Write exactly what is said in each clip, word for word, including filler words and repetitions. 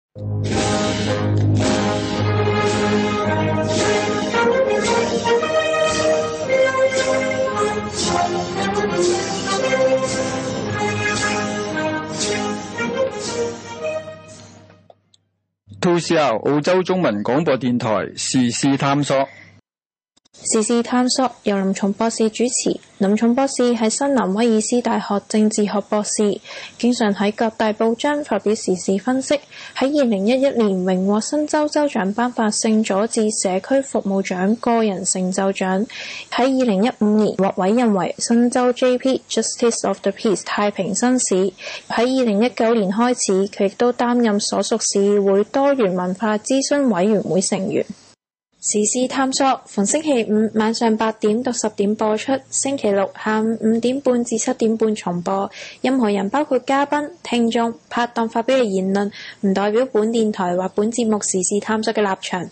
two C R 澳洲中文廣播電台時事探索。 時事探索由林松博士主持。林松博士係新南威爾斯大學政治學博士，經常喺各大報章發表時事分析。喺二零一一年榮獲新州州長頒發聖佐治社區服務獎個人成就獎。喺二零一五年獲委任為新州 J P Justice of the Peace 太平紳士。喺二零一九年開始，佢亦都擔任所屬市議會多元文化諮詢委員會成員。時事探索逢星期五晚上八點到十點播出，星期六下午五點半至七點半重播。任何人包括嘉賓、聽眾、拍檔發表嘅言論，唔代表本電台或本節目時事探索嘅立場。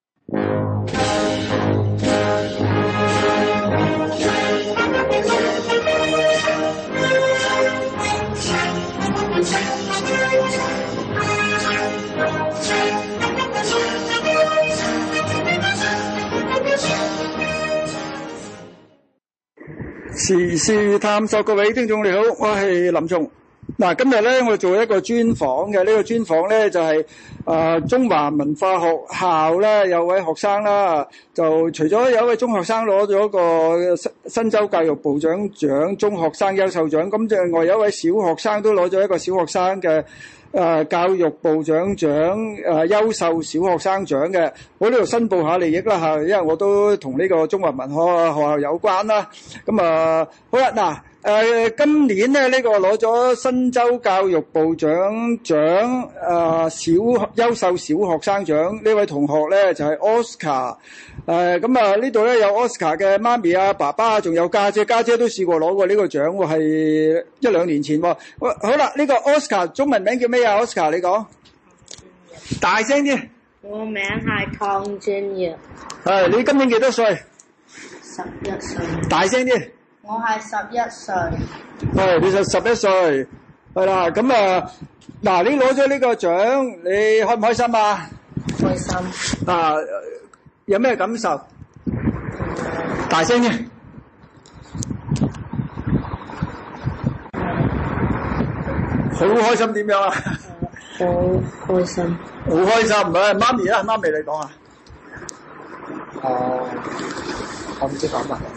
時事探索，各位聽眾你好，我係林松。嗱，今日咧我做一個專訪嘅，呢、這個專訪咧就係、是、啊、呃、中華文化學校咧有位學生啦，就除咗有一位中學生攞咗個新新州教育部長獎中學生優秀獎，咁另外有一位小學生都攞咗一個小學生嘅。誒、呃、教育部長獎誒、呃、優秀小學生獎嘅，我呢度申報下利益啦嚇，因為我都同呢個中華文學學校有關啦。咁啊、呃，好啦，嗱、呃、誒今年咧呢、這個攞咗新州教育部長獎誒、呃、小優秀小學生獎呢位同學咧就係、是、Oscar。誒咁啊呢度咧有 Oscar 嘅媽咪啊、爸爸啊，仲有家姐，家姐都試過攞過呢個獎喎，係一兩年前喎。好啦，呢個 Oscar 中文名叫咩啊 ？Oscar 你講，大聲啲。 我名係鄺俊業。 係，你今年幾多歲？ 十一歲。 大聲啲。 我係十一歲。 係，你就十一歲。係啦，咁啊，嗱，你攞咗呢個獎，你開唔開心啊？ 開心。 啊！有咩感受？大聲啲！好開心點樣啊？ 好開心。 好開心，唔係媽咪啊，媽咪你講啊。 哦，我唔知講乜。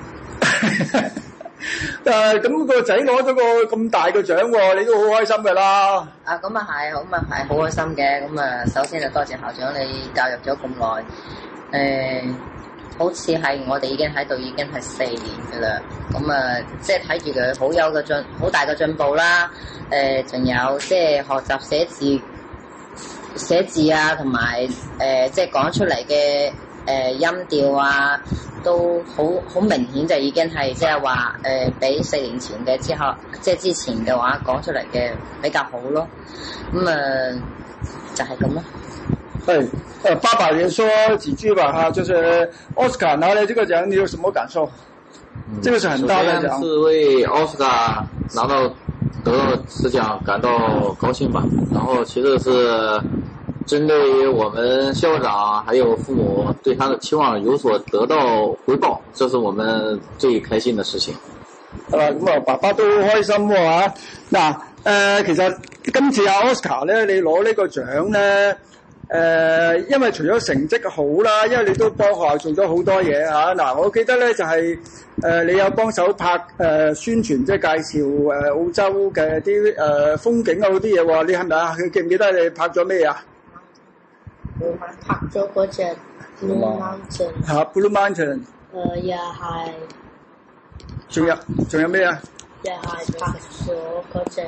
誒，咁個仔攞咗個咁大嘅獎喎，你都好開心㗎啦。 啊，咁啊係，咁啊係，好開心嘅。咁啊，首先就多謝校長你教育咗咁耐。誒、呃，好似係我哋已經喺度已經係四年㗎啦，咁啊，即係睇住佢好有個進好大嘅進步啦。誒、呃，仲有即係學習寫字、寫字啊，同埋誒即係講出嚟嘅誒音調啊，都好好明顯就已經係即係話誒比四年前嘅之後，即係之前嘅話講出嚟嘅比較好咯。咁、嗯、啊、呃，就係咁咯。 對，呃，爸爸也說幾句吧哈，就是 Oscar 拿了這個獎，你有什麼感受？嗯、這個是很大的獎。 首先是為 Oscar 拿到得到此獎感到高興吧。然後其次是針對於我們校長還有父母對他的期望有所得到回報，這是我們最開心的事情。 係啦，咁啊，爸爸都好開心喎嚇。嗱，誒，其實今次阿 Oscar 咧，你攞呢個獎咧。誒、呃，因為除咗成績好啦，因為你都幫學校做咗好多嘢嚇。嗱、啊，我記得咧就係、是、誒、呃，你有幫手拍誒、呃、宣傳，即係介紹誒、呃、澳洲嘅啲誒風景啊嗰啲嘢喎。你係咪啊？記唔記得你拍咗咩啊？ 我拍咗嗰隻 Blue Mountain。 嚇 ，Blue Mountain。 誒，又係。 仲有仲有咩啊？ 又係拍咗嗰隻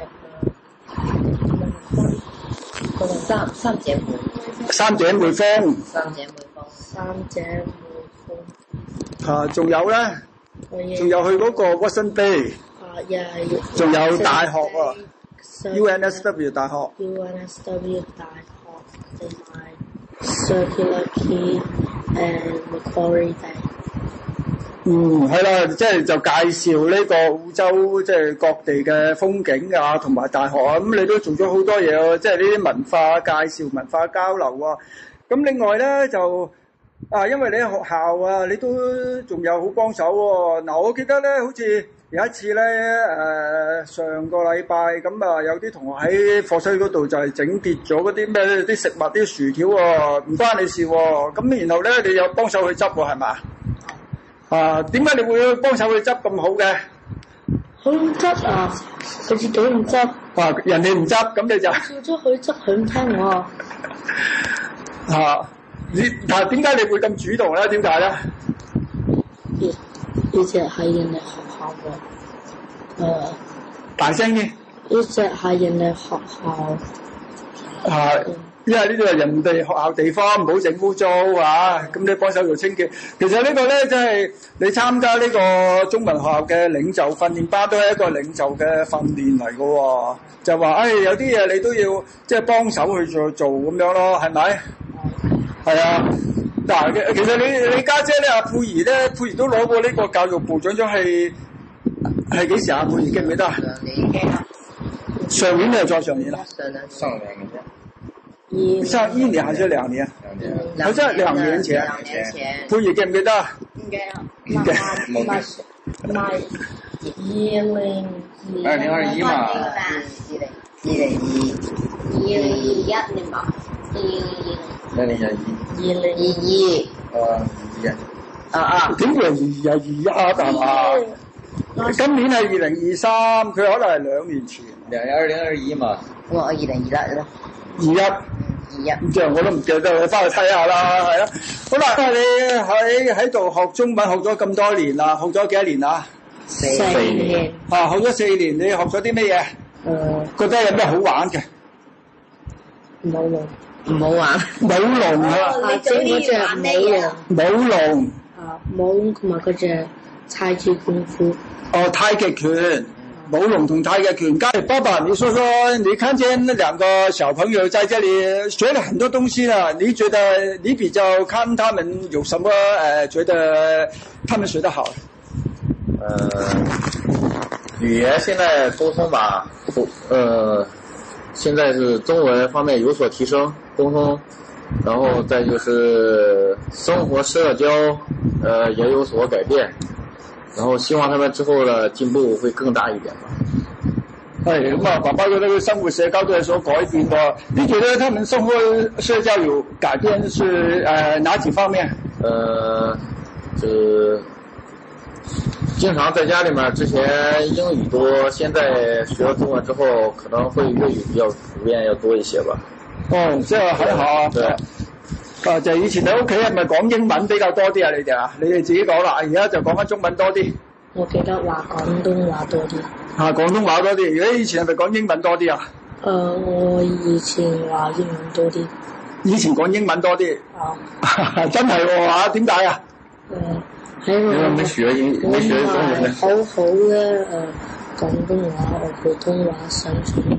誒三三姐妹。 三姐妹峰。 三姐妹峰。三姐妹峰。 啊，仲有咧？仲有去嗰個 Watson Bay。 啊，又係。 仲有大學喎 ，U N S W 大學。 U N S W 大學同埋 Circular Quay and Macquarie Bank。 嗯，係啦，即係就介紹呢個澳洲即係各地嘅風景啊，同埋大學啊，咁你都做咗好多嘢喎，即係呢啲文化介紹、文化交流啊。咁另外咧就啊，因為你喺學校啊，你都仲有好幫手喎。嗱，我記得咧，好似有一次咧，誒、呃、上個禮拜咁啊，有啲同學喺課室嗰度就係整跌咗嗰啲咩啲食物啲薯條喎，唔關你事喎。咁然後咧，你有幫手去執喎，係嘛？啊，點解你會幫手去執咁好嘅？ 佢唔執啊，佢自己唔執。 啊，人哋唔執，咁你就叫咗佢執，佢唔聽我。 啊，你但係點解你會咁主動咧？點解咧？ 呢呢隻係人哋學校嘅，誒、呃， 大聲啲。 呢隻係人哋學校。 啊。因為呢度係人哋學校地方，唔好整污糟啊！咁你幫手做清潔。其實呢個咧，即係你參加呢個中文學校嘅領袖訓練班，都係一個領袖嘅訓練嚟㗎喎。就話誒、哎，有啲嘢你都要即係幫手去做做咁樣咯，係咪？係啊。嗱，其實你你家姐咧，阿佩兒咧，佩兒都攞過呢個教育部長獎，係係幾時啊？佩兒記唔記得啊？上年定係再上年啦？ 上年上年嘅啫。 上一年還是兩年？ 兩年， 好像兩年前。 兩年前。 佩兒記唔記得？ 唔記得。唔記得。唔係唔係二零二。 二零二一嘛。 二零二零二零二一年嘛。 二零二一。 二零二二。 誒二一。 啊啊！ 點會係二一啊？係嘛？今年係二零二三，佢可能係兩年前。 兩年二零二一嘛。 我二零二一啦。 二一。 二一， 咁即係我都唔記得，你翻去睇下啦，係啦。好啦，你喺喺度學中文學咗咁多年啦，學咗幾多年啊？ 四年。 啊，學咗四年，你學咗啲咩嘢？ 誒。 覺得有咩好玩嘅？ 舞龍。 唔好玩。 舞龍啊！ 啊，即係嗰隻舞龍。 舞龍。 啊，舞龍同埋嗰隻太極功夫。 哦，太極拳。舞龍同太極拳，剛才爸爸，你說說，你看見那兩個小朋友在這裡學了很多東西了，你覺得你比較看他們有什麼呃，覺得他們學得好？ 呃，語言現在溝通吧，呃，現在是中文方面有所提升，溝通，然後再就是生活社交，呃，也有所改變。然後希望他們之後的進步會更大一點吧。 係咁啊，爸爸覺得佢生活社交都有所改變喎。你覺得他們生活社交有改變是呃哪幾方面？ 呃，就經常在家裡面，之前英語多，現在學了中文之後，可能會粵語比較普遍要多一些吧。 哦，即係很好啊。 對。 啊，就以前喺屋企係咪講英文比較多啲啊？你哋啊，你哋自己講啦。而家就講翻中文多啲。 我記得話廣東話多啲。 啊，廣東話多啲。如果以前係咪講英文多啲啊？ 誒、呃，我以前話英文多啲。 以前講英文多啲。啊。真係喎嚇？點解啊？ 誒、呃，喺我沒學英，沒學中文。 好好嘅誒廣東話和普通話相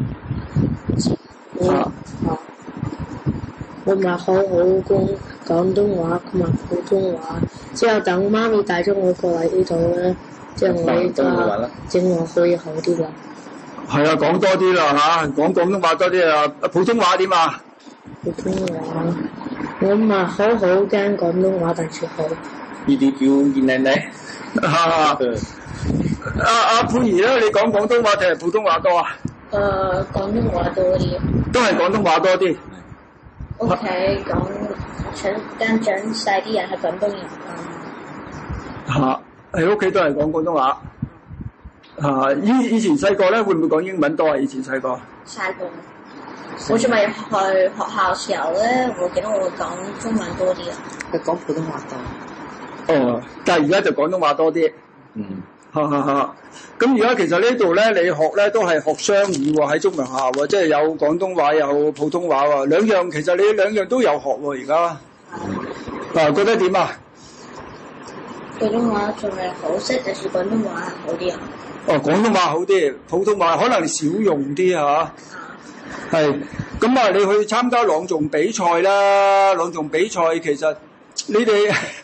處。啊。啊。我咪好好講廣東話同埋普通話，之後等媽咪帶咗我過嚟呢度咧，即係我而家正話可以好啲啦。 係啊，講多啲啦嚇，講廣東話多啲啊，普通話點啊？ 普通話，我咪好好驚廣東話，但係好。 呢啲叫二奶奶。 啊，阿阿佩兒咧，你講廣東話定係普通話多啊？ 誒、呃，廣東話多啲。 都係廣東話多啲。 屋企講長跟長細啲人係廣東人啊，喺屋企都係講廣東話。啊，以以前細個咧會唔會講英文多啊？以前細個。 細個，我仲未去學校時候咧，我記得我會講中文多啲啊。 佢講普通話多。 哦，但係而家就廣東話多啲。 嗯。 哈哈哈！咁而家其實呢度咧，你學咧都係學雙語喎，喺中文學校喎，即係有廣東話有普通話喎，兩樣其實你兩樣都有學喎，而家。嗱，覺得點啊？ 普通話仲係好識，但是廣東話係好啲啊。 哦，廣東話好啲，普通話可能少用啲嚇。係。咁啊，你去參加朗誦比賽啦，朗誦比賽其實你哋。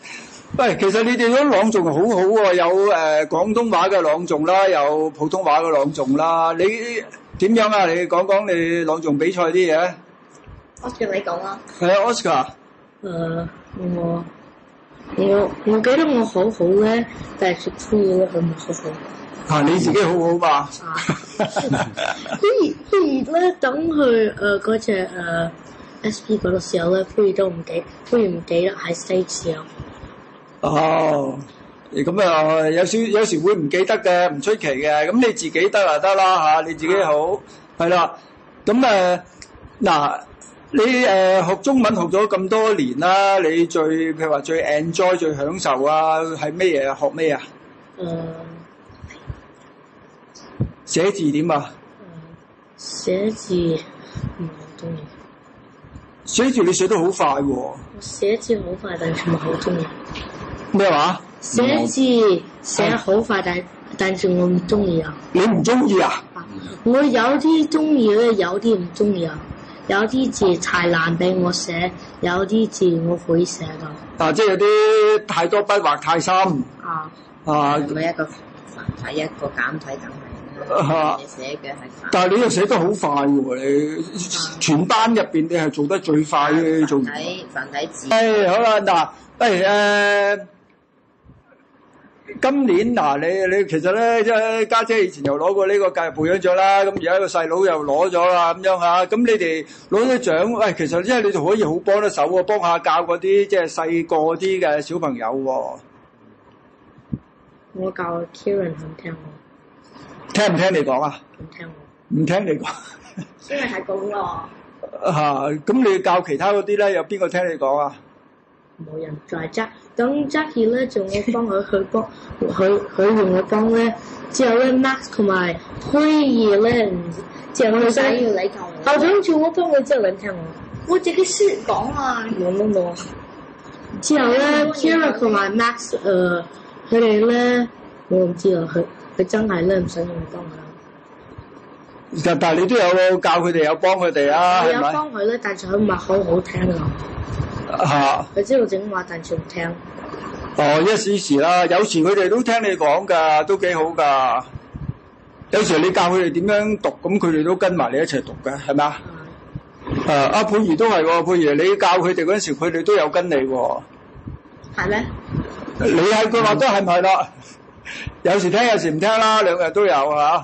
喂，其實你哋嗰朗誦好好喎，有誒、呃、廣東話嘅朗誦啦，有普通話嘅朗誦啦。你點樣啊？你講講你朗誦比賽啲嘢。 Oscar 你講啦。 係啊 ，Oscar。誒， 我我我記得我好好咧，但係出嘢咧佢唔好好。 啊，你自己好好嘛？ 不如不如咧，等佢誒嗰隻誒 S P 嗰度時候咧，不如都唔記，不如唔記得喺 stage 時候。 哦，咁啊，有少有時會唔記得嘅，唔出奇嘅。咁你自己得啊得啦嚇，你自己好係啦。咁誒嗱，你誒、呃、學中文學咗咁多年啦，你最譬如話最 enjoy 最享受啊，係咩嘢啊？學咩啊？誒、呃，寫字點啊？ 寫字唔好中意。 寫字你寫得好快喎、哦。 我寫字好快，但係唔係好中意。 咩話？ 寫字寫好快，但但是我唔中意啊！ 你唔中意啊？ 我有啲中意咧，有啲唔中意啊。有啲字太難俾我寫，有啲字我會寫噶。 啊，即係有啲太多筆畫太深。 啊啊！ 每一個繁體一個簡體梗係。你寫嘅係。 但係你又寫得好快喎！你全班入邊你係做得最快嘅做。 繁體繁體字。 誒、哎、好啦，嗱，誒、哎、誒。今年嗱、啊，你你其實咧，即係家姐以前又攞過呢個教育部長獎啦，咁而家個細佬又攞咗啦，咁樣嚇，咁你哋攞咗獎，喂、哎，其實即係你哋可以好幫得手喎，幫下教嗰啲即係細個啲嘅小朋友喎。 我教 Kieran 肯聽我。 聽唔聽你講啊？ 唔聽我。唔聽你講。 因為係咁咯。 嚇，咁你教其他嗰啲咧，有邊個聽你講啊？ 冇人再揸，等 Jackie 咧就我幫佢去幫佢佢用我幫咧，之後咧 Max 同埋虛兒咧，之後佢想要你教我。校長叫我幫佢之後你聽我，我自己識講啊。冇冇冇。之後咧 Kira 同埋 Max 誒，佢哋咧我唔知啊，佢佢真係咧唔想用我幫佢。 但但係你都有教佢哋，有幫佢哋啊， 係咪？我有幫佢咧，但係佢唔係好好聽啊。 嚇！ 佢知道整話，但係唔聽。 哦，一時時啦，有時佢哋都聽你講㗎，都幾好㗎。有時你教佢哋點樣讀，咁佢哋都跟埋你一齊讀㗎，係咪啊？誒，阿佩兒都係喎，佩兒你教佢哋嗰陣時，佢哋都有跟你喎。 係咩？ 你係佢話都係唔係啦？有時聽，有時唔聽啦，兩日都有嚇。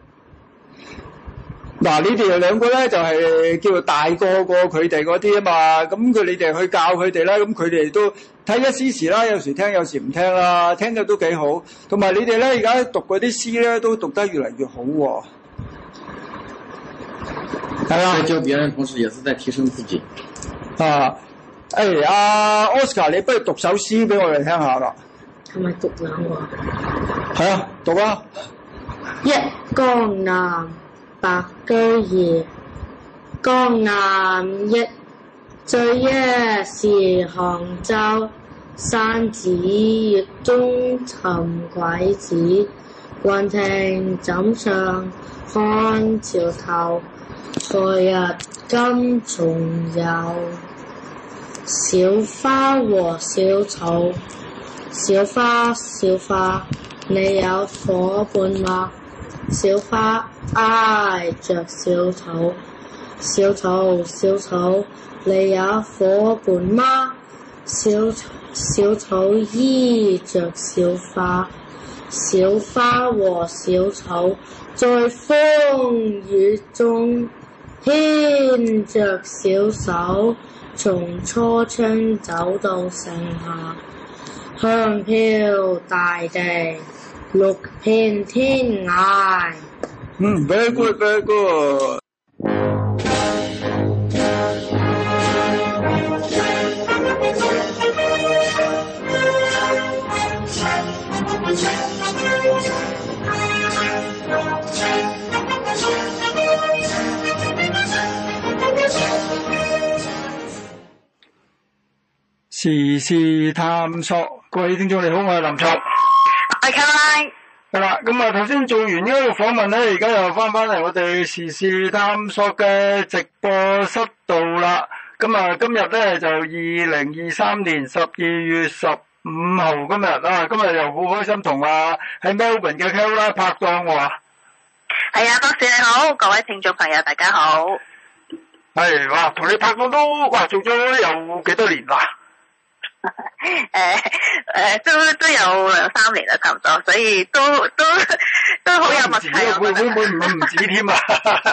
嗱，你哋兩個咧就係、是、叫做大個過佢哋嗰啲啊嘛，咁佢你哋去教佢哋啦，咁佢哋都睇一時時啦，有時聽有時唔聽啦，聽嘅都幾好。同埋你哋咧而家讀嗰啲詩咧都讀得越嚟越好喎、哦。係啊， 在教別人同時也是在提升自己。 啊，誒、哎，阿 Oscar，你不如讀首詩俾我哋聽下啦。 係咪讀兩個？ 係啊，讀啊。 一江南白居易，江南憶，最憶是杭州。山寺月中尋鬼子，雲亭枕上看潮頭。才日金重遊，小花和小草。小花小花，你有伙伴嗎？小花挨着小草，小草小草，你有伙伴嗎？小小草依着小花，小花和小草在風雨中牽着小手，從初春走到盛夏，香飄大地，綠遍天涯。 嗯 very good, very good。時事探索，各位聽眾你好，我係林卓。 係 Caroline。 係啦，咁啊頭先做完呢個訪問咧，而家又翻返嚟我哋時事探索嘅直播室度啦。咁啊今日咧就二零二三年十二月十五號今日啊，今日又好開心同啊喺 Melbourne 嘅 Caroline 拍檔喎。 係啊，博士你好，各位聽眾朋友大家好。 係哇，同你拍檔都哇做咗有幾多年啦？ 誒誒，都都有兩三年啦，差唔多，所以都都都好有默契。 會會會唔會唔止添啊？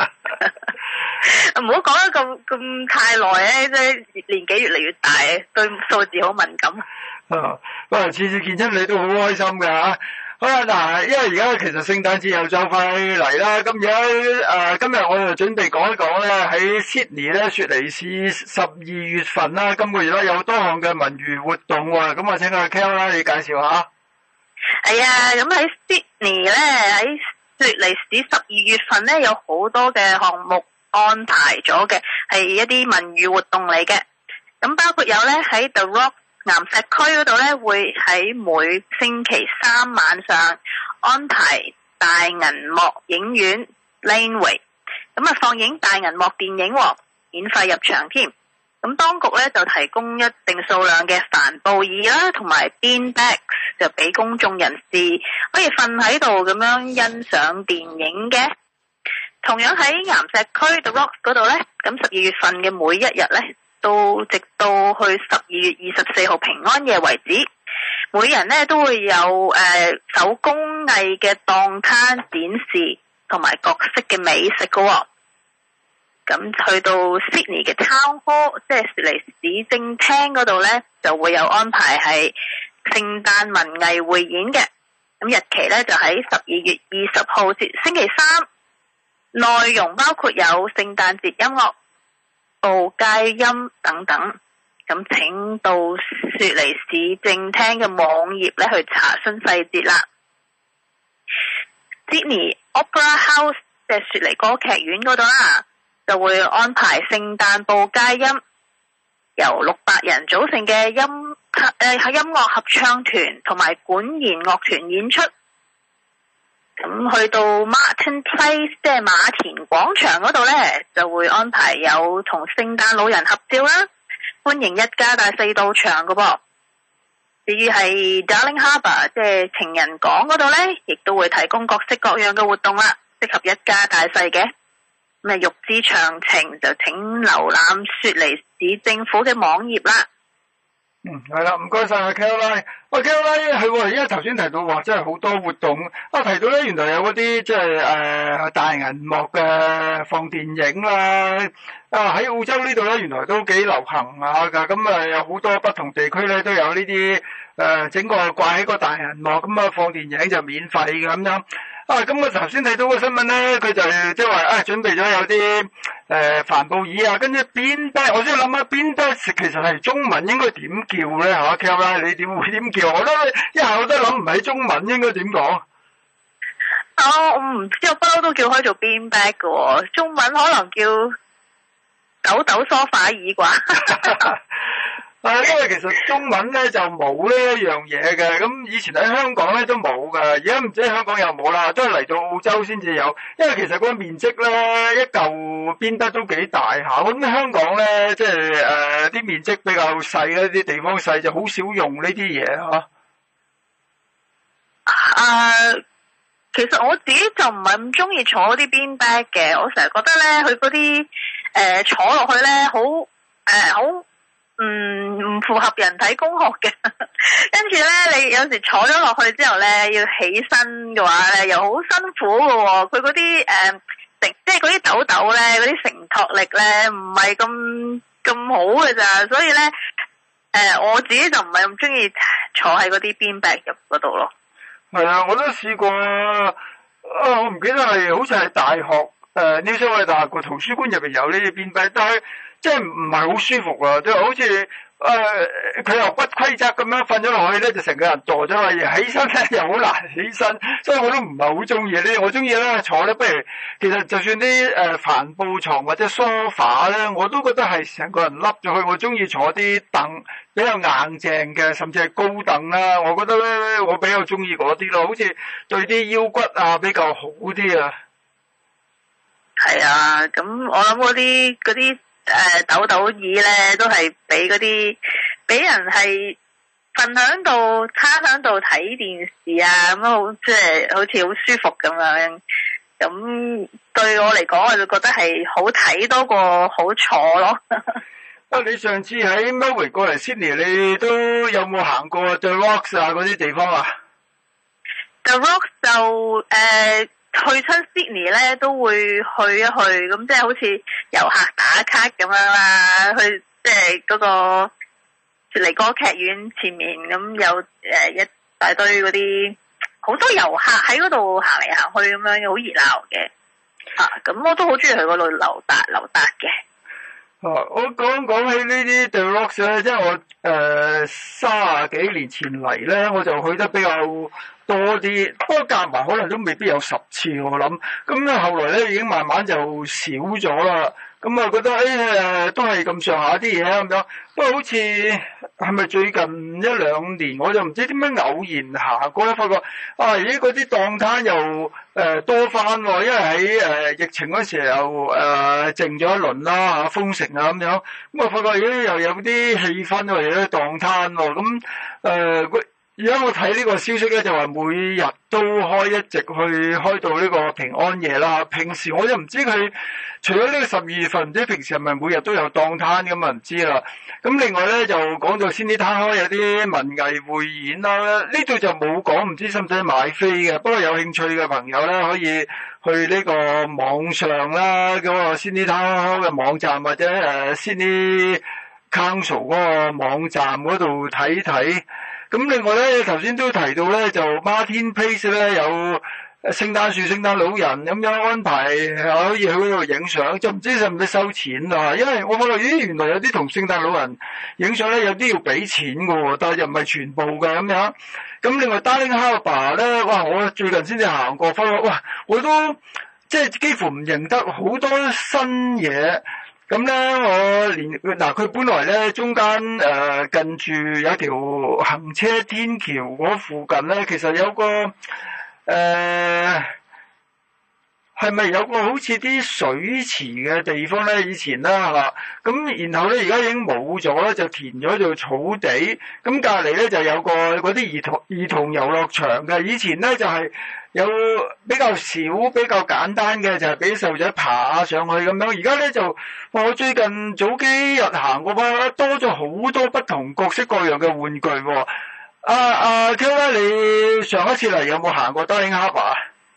唔好講得咁咁太耐咧，即係年紀越嚟越大，對數字好敏感。 啊，哇！次次見親你都好開心㗎嚇。好啦，嗱，因為而家其實聖誕節又就快嚟啦，咁樣誒，今日我就準備講一講咧，喺 Sydney 咧，雪梨市十二月份啦，今個月咧有多項嘅文娛活動喎，咁我請阿 Kel 啦，你介紹下。 係啊，咁喺 Sydney 咧，喺雪梨市十二月份咧有好多嘅項目安排咗嘅，係一啲文娛活動嚟嘅，咁包括有咧喺 The Rock岩石區嗰度咧，會喺每星期三晚上安排大銀幕影院 Laneway， 咁啊放映大銀幕電影，免費入場添。咁當局咧就提供一定數量嘅帆布椅啦，同埋 bean bags 就俾公眾人士可以瞓喺度咁樣欣賞電影嘅。同樣喺岩石區 The Rock 嗰度咧，咁十二月份嘅每一日咧，到直到去十二月二十四號平安夜為止，每人咧都會有誒、呃、手工藝嘅檔攤展示，同埋各式嘅美食嘅、哦。咁去到 Sydney 嘅 Town Hall， 即係雪梨市政廳嗰度咧，就會有安排係聖誕文藝匯演嘅。咁日期咧就喺十二月二十號至星期三，內容包括有聖誕節音樂、報佳音等等，咁請到雪梨市政廳嘅網頁咧去查詢細節啦。Sydney Opera House 即係雪梨歌劇院嗰度啦，就會安排聖誕報佳音，由六百人組成嘅音誒喺音樂合唱團同埋管弦樂團演出。咁去到 Martin Place 即係馬田廣場嗰度咧，就會安排有同聖誕老人合照啦，歡迎一家大細到場噶噃。至於係 Darling Harbour 即係情人港嗰度咧，亦都會提供各式各樣嘅活動啦，適合一家大細嘅。咁啊，欲知詳情就請瀏覽雪梨市政府嘅網頁啦。 嗯，係啦，唔該晒阿 Caroline。喂 Caroline，係喎，因為頭先提到話真係好多活動，啊提到咧原來有嗰啲即係誒大銀幕嘅放電影啦，啊喺澳洲呢度咧原來都幾流行下㗎，咁啊有好多不同地區咧都有呢啲誒整個掛喺個大銀幕，咁啊放電影就免費嘅咁樣。啊，咁我頭先睇到個新聞咧，佢就即係話啊，準備咗有啲誒帆布椅啊，跟住邊得，我先諗下邊得，其實係中文應該點叫咧嚇 Caroline 你點會點叫？我都一下我都諗唔起中文應該點講。 哦，我唔知，我不嬲都叫開做 bean bag 嘅喎，中文可能叫抖抖梳化椅啩。 啊，因為其實中文咧就冇呢一樣嘢嘅，咁以前喺香港咧都冇噶，而家唔知香港有冇啦，都係嚟到澳洲先至有。因為其實嗰個面積咧一嚿邊得都幾大下，咁香港咧即係誒啲面積比較細咧，啲地方細就好少用呢啲嘢嚇。 啊，其實我自己就唔係咁中意坐啲 bean bag 嘅，我成日覺得咧佢嗰啲誒坐落去咧好誒好。呃嗯，唔符合人體工學嘅，跟住咧，你有時坐咗落去之後咧，要起身嘅話咧，又好辛苦嘅喎。佢嗰啲誒承，即係嗰啲抖抖咧，嗰啲承托力咧，唔係咁咁好嘅咋。所以咧，誒、呃，我自己就唔係咁中意坐喺嗰啲 bean bag 入嗰度咯。係啊，我都試過啊，我唔記得係好似係大學誒，呢所謂大學個圖書館入邊有呢啲 bean bag，但係。即係唔係好舒服啊！即係好似誒，佢又不規則咁樣瞓咗落去咧，就成個人墮咗落去，起身咧又好難起身，所以我都唔係好中意呢。我中意咧坐咧，不如其實就算啲誒帆布床或者梳化咧，我都覺得係成個人笠咗去。我中意坐啲凳比較硬淨嘅，甚至係高凳啦。我覺得咧，我比較中意嗰啲咯，好似對啲腰骨啊比較好啲啊。 係啊，咁我諗嗰啲嗰啲。誒、呃，抖抖椅咧都係俾嗰啲俾人係瞓喺度，攤喺度睇電視啊，咁好即係好似好舒服咁樣。咁對我嚟講，我就覺得係好睇多過好坐咯。 啊！你上次喺 Melbourne 過嚟 Sydney， 你都有冇行過 The Rocks 啊嗰啲地方啊 ？The Rocks 就誒、呃、去親 Sydney 咧，都會去一去，咁即係好似遊客打卡咁樣啦。去即係嗰個雪梨歌劇院前面，咁有誒一大堆嗰啲好多遊客喺嗰度行嚟行去咁樣，好熱鬧嘅。啊，咁我都好中意去嗰度溜達溜達嘅。 啊！我講講起呢啲 The Rocks 咧，即係我誒三十幾年前嚟咧，我就去得比較多啲，不過夾埋可能都未必有十次我諗。咁咧後來咧已經慢慢就少咗啦。咁啊覺得誒誒、哎、都係咁上下啲嘢咁樣。不過好似係咪最近一兩年我就唔知點樣偶然行過咧，發覺啊咦嗰啲檔攤又誒、呃、多翻喎，因為喺誒、呃、疫情嗰時候誒、呃、靜咗一輪啦嚇，封城啊咁樣。咁我發覺咦又有啲氣氛喎，有啲檔攤喎。咁誒而家我睇呢個消息咧，就話每日都開，一直去開到呢個平安夜啦。平時我就唔知佢除咗呢個十二月份，唔知平時係咪每日都有檔攤咁啊？唔知啦。咁另外咧就講到先啲攤開有啲文藝匯演啦，呢度就冇講，唔知使唔使買飛嘅。不過有興趣嘅朋友咧，可以去呢個網上啦，嗰個先啲攤開嘅網站或者誒先啲 Council 嗰個網站嗰度睇睇。咁另外咧，頭先都提到咧，就 Martin Place 咧有聖誕樹、聖誕老人咁樣安排，可以去嗰度影相，就唔知使唔使收錢啊？因為我發覺咦，原來有啲同聖誕老人影相咧，有啲要俾錢㗎喎，但係又唔係全部嘅咁樣。咁另外 Darling Harbour 咧，哇！我最近先至行過，發覺哇，我都即係幾乎唔認得好多新嘢。咁咧，我連嗱佢本來咧中間誒、呃、近住有條行車天橋嗰附近咧，其實有個誒係咪有個好似啲水池嘅地方咧？以前啦嚇，咁然後咧而家已經冇咗啦，就填咗做草地。咁隔離咧就有個嗰啲兒童兒童遊樂場嘅。以前咧就係、是。有比較少、比較簡單嘅，就係俾細路仔爬上去咁樣。而家咧就我最近早幾日行過啦，多咗好多不同各式各樣嘅玩具喎。阿阿 Kel 咧，你上一次嚟有冇行過 Darling Harbour？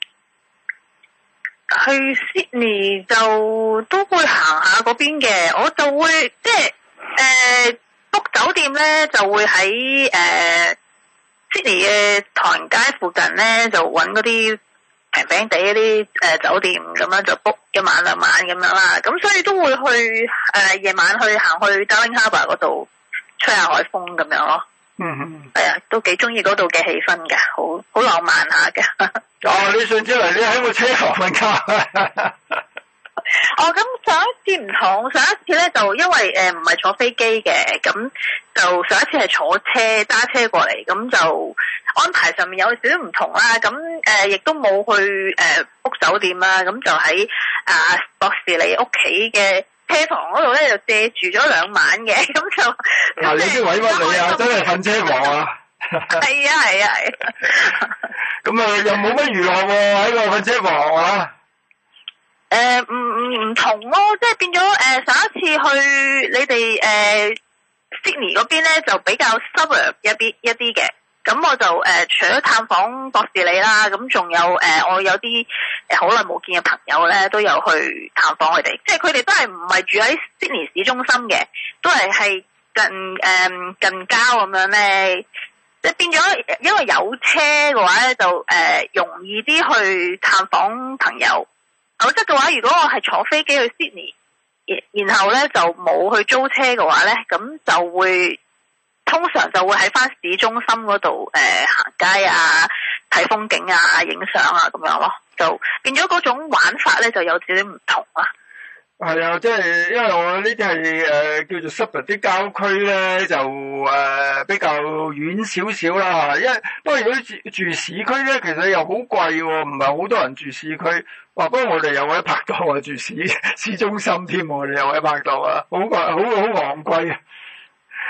去 Sydney 就都會行下嗰邊嘅，我就會即係誒 book 酒店咧，就會喺誒。呃Sydney 嘅唐人街附近咧，就揾嗰啲平平地嗰啲誒酒店咁樣就 book 一晚兩晚咁樣啦。咁所以都會去誒夜、呃、晚去行去 Darling Harbour 嗰度吹下海風咁樣咯。嗯嗯。係啊，都幾中意嗰度嘅氣氛㗎，好好浪漫下嘅。 哦，你上次嚟你喺個車房瞓覺。 哦，咁上一次唔同，上一次咧就因為誒唔係坐飛機嘅，咁就上一次係坐車揸車過嚟，咁就安排上面有少少唔同啦。咁誒亦都冇去誒 book 酒店啦，咁就喺啊博士你屋企嘅車房嗰度咧就借住咗兩晚嘅，咁就嗱你啲委屈你啊，真係瞓車房啊！ 係啊係啊係。 咁啊又冇乜娛樂喎喺個瞓車房啊！ 誒，唔唔唔同咯，即係變咗誒、呃，上一次去你哋誒、呃、Sydney 嗰邊咧，就比較 suburb 一啲一啲嘅。咁我就誒、呃，除咗探訪博士你啦，咁仲有誒、呃，我有啲誒好耐冇見嘅朋友咧，都有去探訪佢哋。即係佢哋都係唔係住喺 Sydney 市中心嘅，都係係近誒、呃、近郊咁樣咧。即係變咗，因為有車嘅話咧，就誒、呃、容易啲去探訪朋友。否則嘅話，如果我係坐飛機去 Sydney，然後咧就冇去租車嘅話咧，咁就會通常就會喺翻市中心嗰度誒行街啊、睇風景啊、影相啊咁樣咯，就變咗嗰種玩法咧就有少少唔同啦。 係啊，即係因為我呢啲係誒叫做 suburb 啲郊區咧，就誒、呃、比較遠少少啦嚇。因為不過如果住住市區咧，其實又好貴喎，唔係好多人住市區。哇！不過我哋有位拍檔啊，住市市中心添，我哋有位拍檔啊，好貴，好好昂貴啊。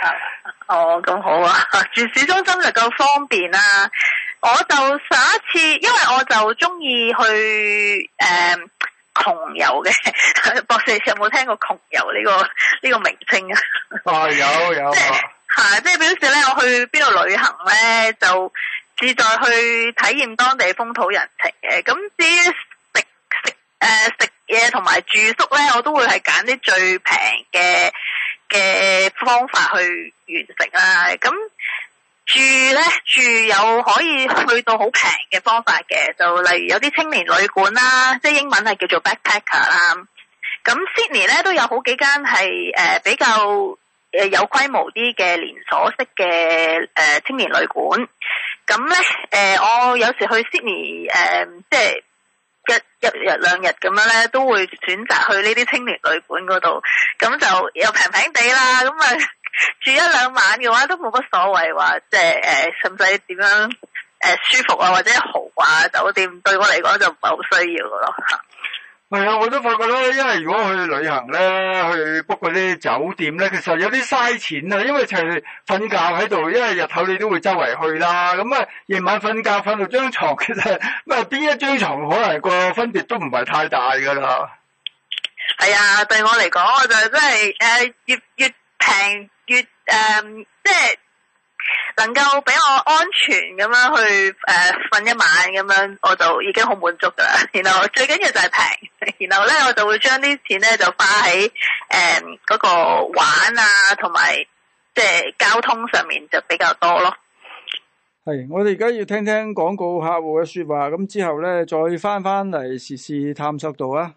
哦，咁好啊！住市中心就夠方便啦。我就上一次，因為我就中意去誒窮遊嘅。博士有冇聽過窮遊呢個呢個名稱啊？ 啊，有有。即係係，即係表示咧，我去邊度旅行咧，就志在去體驗當地風土人情嘅。咁至於食食誒食嘢同埋住宿咧，我都會係揀啲最平嘅嘅方法去完成啦。咁住咧住有可以去到好平嘅方法嘅，就例如有啲青年旅館啦，即係英文係叫做 backpacker 啦。咁 Sydney 咧都有好幾間係誒比較誒有規模啲嘅連鎖式嘅誒青年旅館。咁咧誒我有時去 Sydney 誒即係一一日兩日咁樣咧，都會選擇去呢啲青年旅館嗰度，咁就又平平地啦，咁啊住一兩晚嘅話都冇乜所謂，話即係誒使唔使點樣誒、呃、舒服啊或者豪華酒店，對我嚟講就唔係好需要嘅咯。 係啊，我都發覺咧，因為如果去旅行咧，去 book 嗰啲酒店咧，其實有啲嘥錢啊，因為就係瞓覺喺度，因為日頭你都會周圍去啦，咁啊夜晚瞓覺瞓到張床，其實乜邊一張床可能個分別都唔係太大噶啦。 係啊，對我嚟講，我就真係誒越越平越誒、呃、即係。能夠俾我安全咁樣去誒瞓、呃、一晚咁樣，我就已經好滿足噶啦。然後最緊要就係平，然後咧我就會將啲錢咧就花喺誒嗰個玩啊，同埋即係交通上面就比較多咯。 係，我哋而家要聽聽廣告客戶嘅說話，咁之後咧再翻翻嚟時事探索度啊。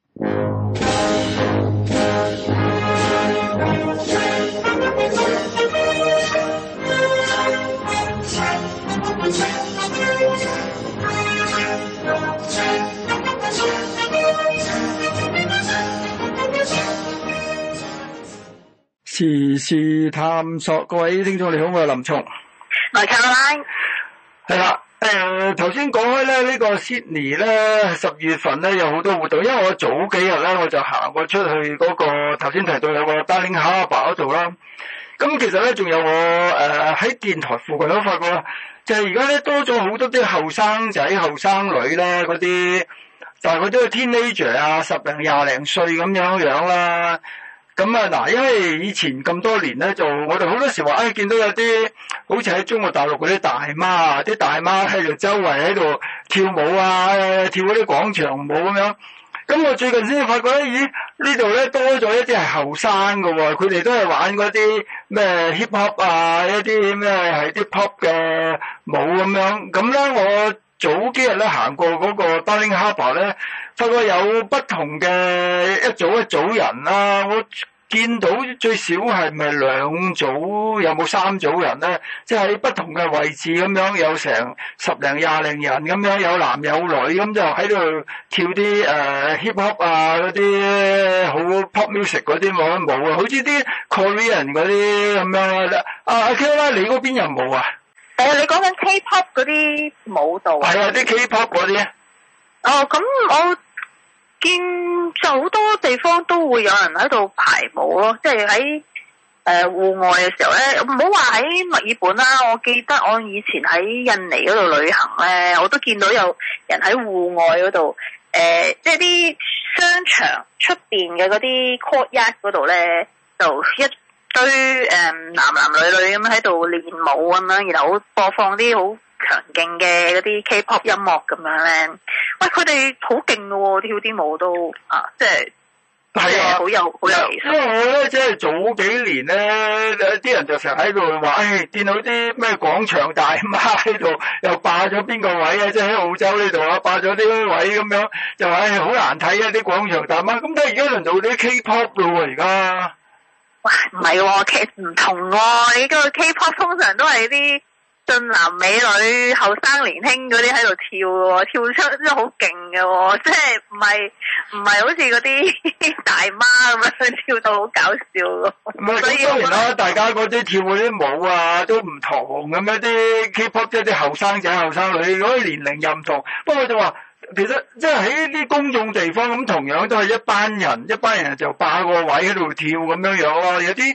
時事探索，各位聽眾你好，我係林松， 我係 Caroline。 係啦，誒，頭先講開咧，呢個 Sydney 咧，十月份咧有好多活動，因為我早幾日咧我就行過出去嗰個頭先提到有個 Darling Harbour 嗰度啦。咁其實咧仲有我誒喺電台附近都發覺，就係而家咧多咗好多啲後生仔、後生女咧嗰啲，但係佢都係 teenager 啊，十零廿零歲咁樣樣啦。咁啊嗱，因為以前咁多年咧，就我哋好多時話，哎，見到有啲好似喺中國大陸嗰啲大媽啊，啲大媽喺度周圍喺度跳舞啊，跳嗰啲廣場舞咁樣。咁我最近先發覺咧，咦，呢度咧多咗一啲係後生㗎喎，佢哋都係玩嗰啲咩 hip hop 啊，一啲咩係啲 pop 嘅舞咁樣。咁咧我早幾日咧行過嗰個 Darling Harbour 咧，發覺有不同嘅一組一組人啦，我見到最少係咪兩組，有冇三組人咧？即係喺不同嘅位置咁樣，有成十零廿零人咁樣，有男有女咁就喺度跳啲誒、呃、hip hop 啊，嗰啲好 pop music 嗰啲舞舞啊，好似啲 Korean 嗰啲咁樣啦。阿阿 K 啦，你嗰邊有冇啊？ 誒，你講緊 K-pop 嗰啲舞蹈啊？ 係啊，啲 K-pop 嗰啲。 哦，咁我見就好多地方都會有人喺度排舞咯，即係喺誒戶外嘅時候咧，唔好話喺墨爾本啦，我記得我以前喺印尼嗰度旅行咧，我都見到有人喺戶外嗰度，誒、呃，即係啲商場出邊嘅嗰啲 courtyard 嗰度咧，就一堆誒、呃、男男女女咁喺度練舞咁樣，然後播放啲好強勁嘅嗰啲 K-pop 音樂咁樣咧，喂，佢哋好勁㗎喎，跳啲舞都啊，即係係啊，好有好有技術。因為我咧即係早幾年咧，啲人就成日喺度話，誒、哎，見到啲咩廣場大媽喺度又霸咗邊個位啊？即係喺澳洲呢度啊，霸咗啲位咁樣，就話誒好難睇啊啲廣場大媽。咁但係而家輪到啲 K-pop 咯喎，而家。 哇，唔係喎，其實唔同喎、哦，你個 K-pop 通常都係啲俊男美女、後生年輕嗰啲喺度跳喎，跳出真係好勁嘅喎，即係唔係唔係好似嗰啲大媽咁樣跳到好搞笑喎。 唔係，咁當然啦，大家嗰啲跳嗰啲舞啊都唔同咁樣，啲 K-pop 即係啲後生仔、後生女，嗰啲年齡又唔同。不過就話，其實即係喺啲公眾地方咁，同樣都係一班人，一班人就霸個位喺度跳咁樣樣咯。有啲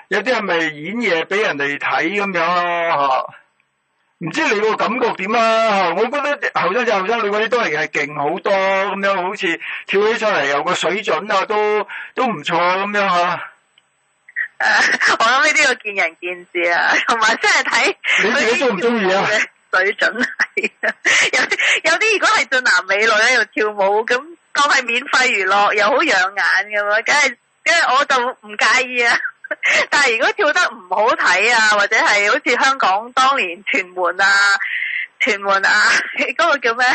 有啲係咪演嘢俾人哋睇咁樣咯嚇？唔知你個感覺點啊？我覺得後生仔後生女嗰啲都係係勁好多咁樣，好似跳起上嚟有個水準啊，都都唔錯咁樣嚇。 誒、uh，我諗呢啲要見仁見智啊，同埋真係睇你自己中唔中意啊？ 水準係啊，有有啲如果係俊男美女喺度跳舞，咁當係免費娛樂，又好養眼嘅嘛，梗係梗係我就唔介意啊。但係如果跳得唔好睇啊，或者係好似香港當年屯門啊、屯門啊嗰、嗰個叫咩？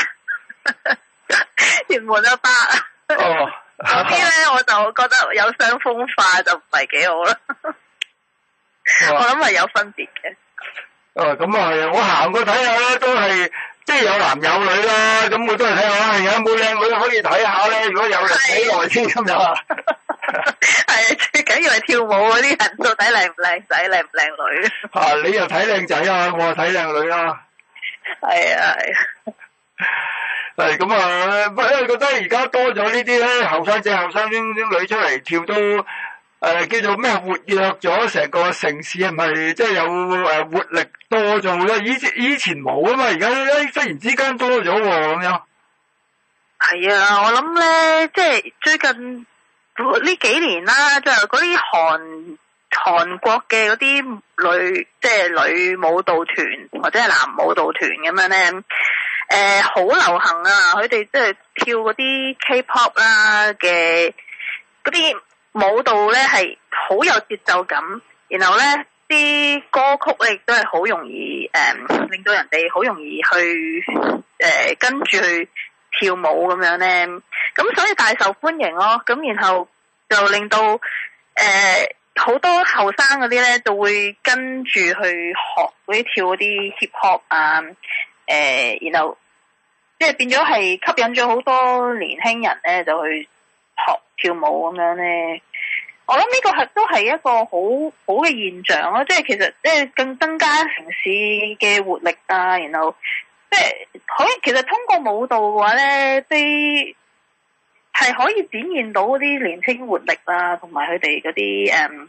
屯門阿伯啊，嗰啲咧我就覺得有傷風化就唔係幾好啦。我諗係有分別嘅。 哦，咁啊係啊，我行過睇下咧，都係即係有男有女啦，咁我都係睇下，係有冇靚女可以睇下咧。如果有人睇耐先咁樣啊。 係啊，最緊要係跳舞嗰啲人到底靚唔靚仔，靚唔靚女。 啊，你又睇靚仔啊，我又睇靚女啦。 係啊係啊。 係咁啊，不過覺得而家多咗呢啲咧，後生仔後生啲女出嚟跳都誒、呃、叫做咩活躍咗成個城市，係咪即係有誒活力多咗好多？以前以前冇啊嘛，而家誒忽然之間多咗喎咁樣。係啊，我諗咧，即係最近呢幾年啦，就嗰啲韓韓國嘅嗰啲女，即係女舞蹈團或者係男舞蹈團咁樣咧，誒、呃、好流行啊！佢哋即係跳嗰啲 K-pop 啦嘅嗰啲舞蹈咧，係好有節奏感，然後咧啲歌曲咧亦都係好容易誒、呃，令到人哋好容易去誒、呃、跟住去跳舞咁樣咧，咁所以大受歡迎咯。咁然後就令到誒好、呃、多後生嗰啲咧就會跟住去學嗰啲跳嗰啲 hip hop 啊，誒、呃，然後即係變咗係吸引咗好多年輕人咧就去學跳舞咁樣咧。我諗呢個係都係一個好好嘅現象咯，即係其實即係更增加城市嘅活力啊，然後。即係可以，其實通過舞蹈嘅話咧，啲係可以展現到嗰啲年輕活力啊，同埋佢哋嗰啲誒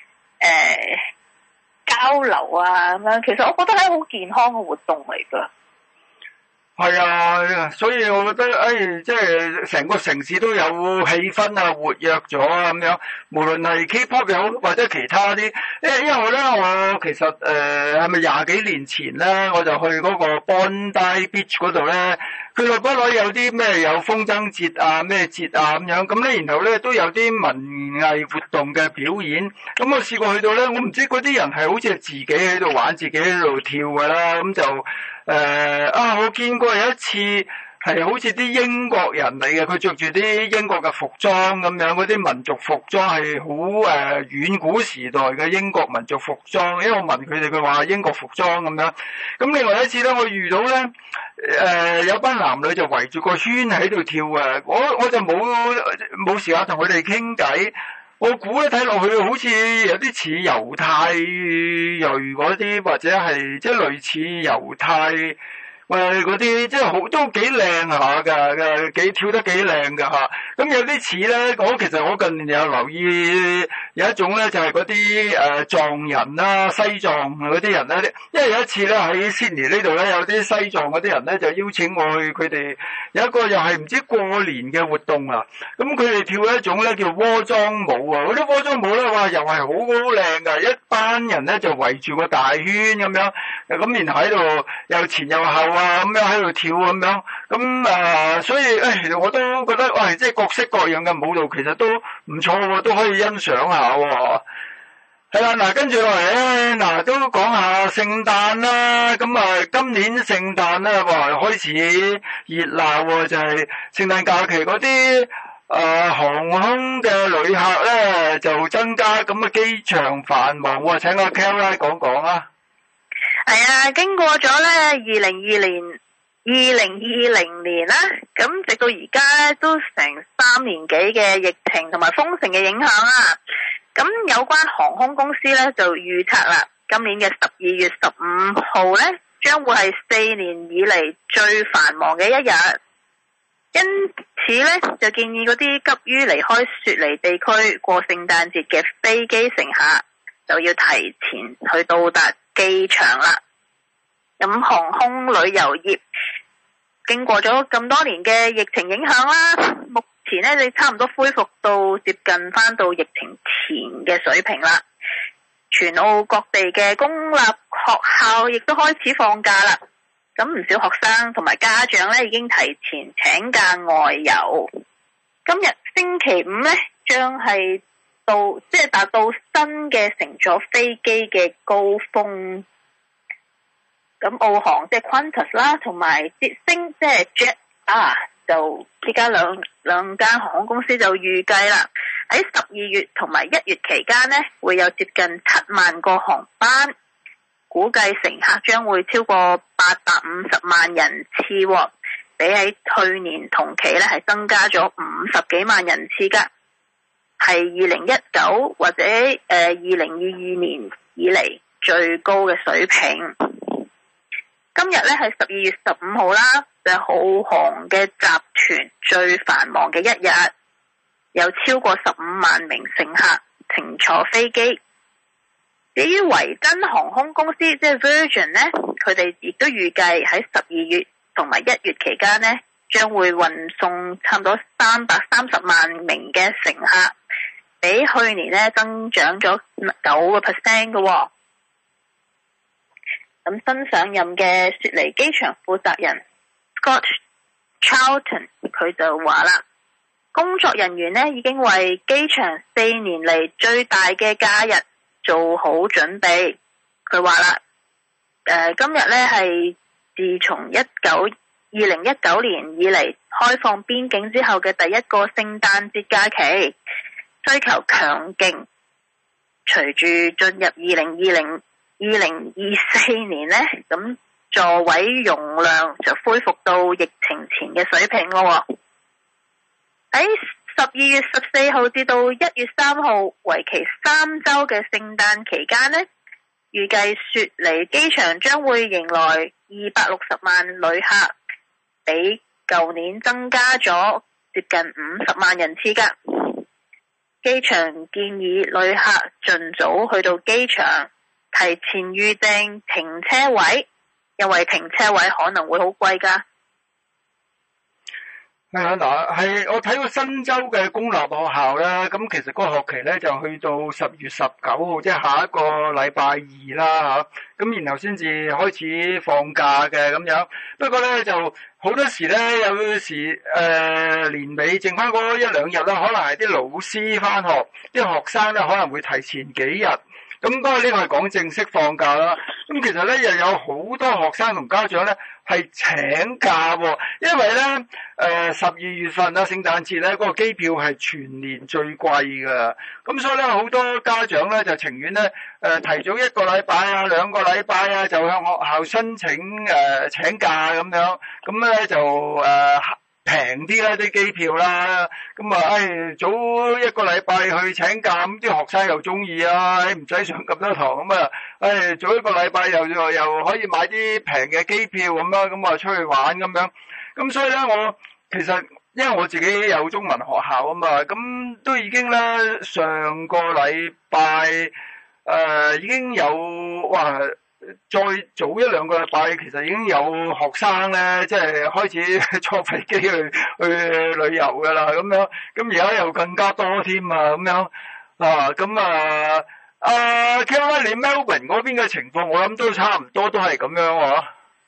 誒交流啊咁樣。其實我覺得係好健康嘅活動嚟㗎。係啊，所以我覺得誒、哎，即係成個城市都有氣氛啊，活躍咗啊咁樣。無論係 K-pop 又好，或者其他啲，因為因為咧，我其實誒係咪廿幾年前咧，我就去嗰個 Bondi Beach 嗰度咧，佢落不落有啲咩有風箏節啊、咩節啊咁樣，咁咧然後咧都有啲文藝活動嘅表演。咁我試過去到咧，我唔知嗰啲人係好似係自己喺度玩，自己喺度跳㗎啦，咁就。誒、呃、啊！我見過有一次係好似啲英國人嚟嘅，佢着住啲英國嘅服裝咁樣，嗰啲民族服裝係好誒遠古時代嘅英國民族服裝。因為我問佢哋，佢話英國服裝咁樣。咁另外一次咧，我遇到咧誒、呃、有班男女就圍住個圈喺度跳啊！我我就冇冇時間同佢哋傾偈。我估咧睇落去好似有啲似猶太裔嗰啲，或者係即係類似猶太誒嗰啲，即係好都幾靚下㗎嘅，幾跳得幾靚㗎嚇。咁有啲似咧，我其實我近年有留意有一種咧，就係嗰啲誒藏人啦、西藏嗰啲人咧。因為有一次咧喺 Sydney 呢度咧，有啲西藏嗰啲人咧就邀請我去佢哋有一個又係唔知過年嘅活動啊。咁佢哋跳一種咧叫鍋莊舞啊。嗰啲鍋莊舞咧，哇又係好好靚㗎，一班人咧就圍住個大圈咁樣，咁然後喺度又前又後啊咁樣喺度跳咁樣。咁啊，所以誒我都覺得哇，即係各式各樣嘅舞蹈其實都唔錯喎，都可以欣賞下喎。係啦，嗱跟住落嚟咧，嗱都講下聖誕啦。咁啊，今年聖誕咧，哇開始熱鬧喎，就係聖誕假期嗰啲誒航空嘅旅客咧就增加，咁啊機場繁忙喎。請阿 Kelly 講講啊。係啊，經過咗咧二零二年。二零二零年啦，咁直到而家咧都成三年幾嘅疫情同埋封城嘅影響啦。咁有關航空公司咧就預測啦，今年嘅十二月十五號咧將會係四年以嚟最繁忙嘅一日。因此咧就建議嗰啲急於離開雪梨地區過聖誕節嘅飛機乘客， 就要提前去到達機場啦。咁航空旅遊業經過咗咁多年嘅疫情影響啦，目前呢，你差唔多恢復到接近翻到疫情前嘅水平啦。全澳各地嘅公立學校亦都開始放假啦。咁唔少學生同埋家長呢已經提前請假外遊。今日星期五呢，將係到即係達到新嘅乘坐飛機嘅高峰。咁澳航即係 Qantas 啦，同埋捷星即係 Jet 啊，就呢家兩兩間航空公司就預計啦，喺十二月同埋一月期間呢，會有接近七萬個航班，估計乘客將會超過八百五十萬人次，比喺去年同期呢係增加咗五十幾萬人次噶，係二零一九或者誒二零二二年以嚟最高嘅水平。今日咧係十二月十五號啦，就係澳航嘅集團最繁忙嘅一日，有超過十五萬名乘客乘坐飛機。至於維珍航空公司即係 Virgin 咧，佢哋亦都預計喺十二月同埋一月期間咧，將會運送差唔多三百三十萬名嘅乘客，比去年咧增長咗九個 percent 嘅喎。咁新上任嘅雪梨機場負責人 Scott Charlton 佢就話啦，工作人員呢已經為機場四年嚟最大嘅假日做好準備。佢話啦，誒、呃、今日呢係自從一九二零一九年以嚟開放邊境之後嘅第一個聖誕節假期，需求強勁。隨住進入二零二零二零二四年呢，咁座位容量就恢復到疫情前嘅水平咯。喺十二月十四號至到一月三號，為期三周嘅聖誕期間呢，預計雪梨機場將會迎來二百六十萬旅客，比舊年增加咗接近五十萬人次噶。機場建議旅客盡早去到機場，提前預訂停車位，因為停車位可能會好貴噶。 係啊，嗱，係我睇過新州嘅公立學校咧，咁其實嗰個學期咧就去到十月十九號，即係下一個禮拜二啦吓，咁然後先至開始放假嘅咁樣。不過咧就好多時咧，有時誒、呃、年尾剩翻嗰一兩日啦，可能係啲老師翻學，啲學生咧可能會提前幾日。咁不過呢個係講正式放假啦。咁其實咧又有好多學生同家長咧係請假喎，因為咧誒十二月份啊聖誕節咧嗰個機票係全年最貴㗎。咁所以咧好多家長咧就情願咧誒提早一個禮拜啊兩個禮拜啊就向學校申請誒請假咁樣，咁咧就誒平啲啦啲機票啦，咁啊，誒早一個禮拜去請假，咁啲學生又中意啊，誒唔使上咁多堂，咁啊，誒早一個禮拜又又又可以買啲平嘅機票咁啦，咁啊出去玩咁樣，咁所以咧我其實因為我自己有中文學校啊嘛，咁都已經咧上個禮拜誒已經有哇。再早一兩個禮拜，其實已經有學生咧，即係開始坐飛機去去旅遊噶啦，咁樣，咁而家又更加多添啊，咁樣啊，咁啊，啊 Kelvin 你 Melbourne 嗰邊嘅情況，我諗都差唔多，都係咁樣喎。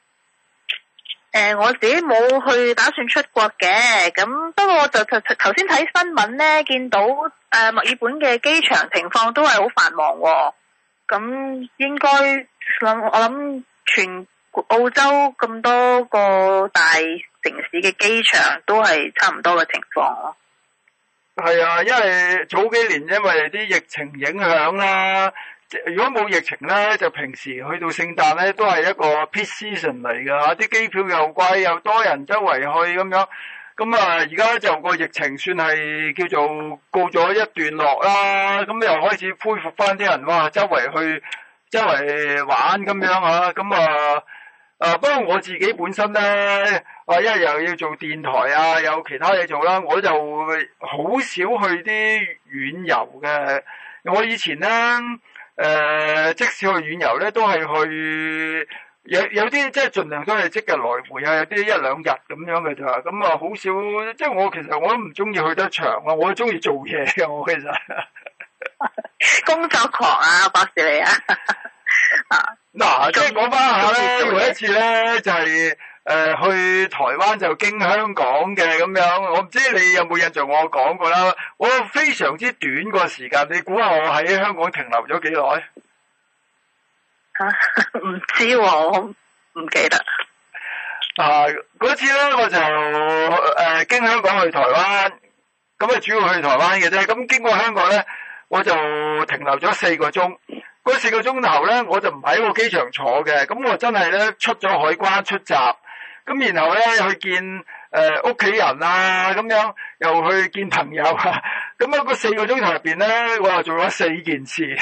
誒，我自己冇去打算出國嘅，咁不過我就頭頭先睇新聞咧，見到誒墨爾本嘅機場情況都係好繁忙喎，咁應該。我諗全澳洲咁多個大城市嘅機場都係差唔多嘅情況咯。 係啊，因為早幾年因為啲疫情影響啦，如果冇疫情咧，就平時去到聖誕咧都係一個 peak season 嚟㗎，啲機票又貴又多人周圍去咁樣。咁啊，而家就個疫情算係叫做告咗一段落啦，咁又開始恢復翻啲人哇，周圍去。周圍玩咁樣啊，咁啊，啊不過我自己本身咧，啊因為又要做電台啊，有其他嘢做啦，我就好少去啲遠遊嘅。我以前咧呃、即使去遠遊咧，都係去有有啲即係盡量都係即日來回啊，有啲一兩日咁樣嘅咋，咁啊好少，即係我其實我都唔中意去得長啊，我中意做嘢嘅我其實。 工作狂啊，博士你啊！ 嗱、啊，即係講翻下咧，有一次咧就係、是、誒、呃、去台灣就經香港嘅咁樣，我唔知你有冇印象我講過啦。我非常之短個時間，你估下我喺香港停留咗幾耐？ 吓，唔知喎，我唔記得。 啊，嗰次咧我就誒、呃、經香港去台灣，咁啊主要去台灣嘅啫。咁經過香港咧，我就停留咗四個鐘。嗰四個鐘頭咧，我就唔喺個機場坐嘅，咁我真係咧出咗海關出閘，咁然後咧去見誒屋企人啊，咁樣又去見朋友啊，咁啊嗰四個鐘頭入邊咧，我又做咗四件事，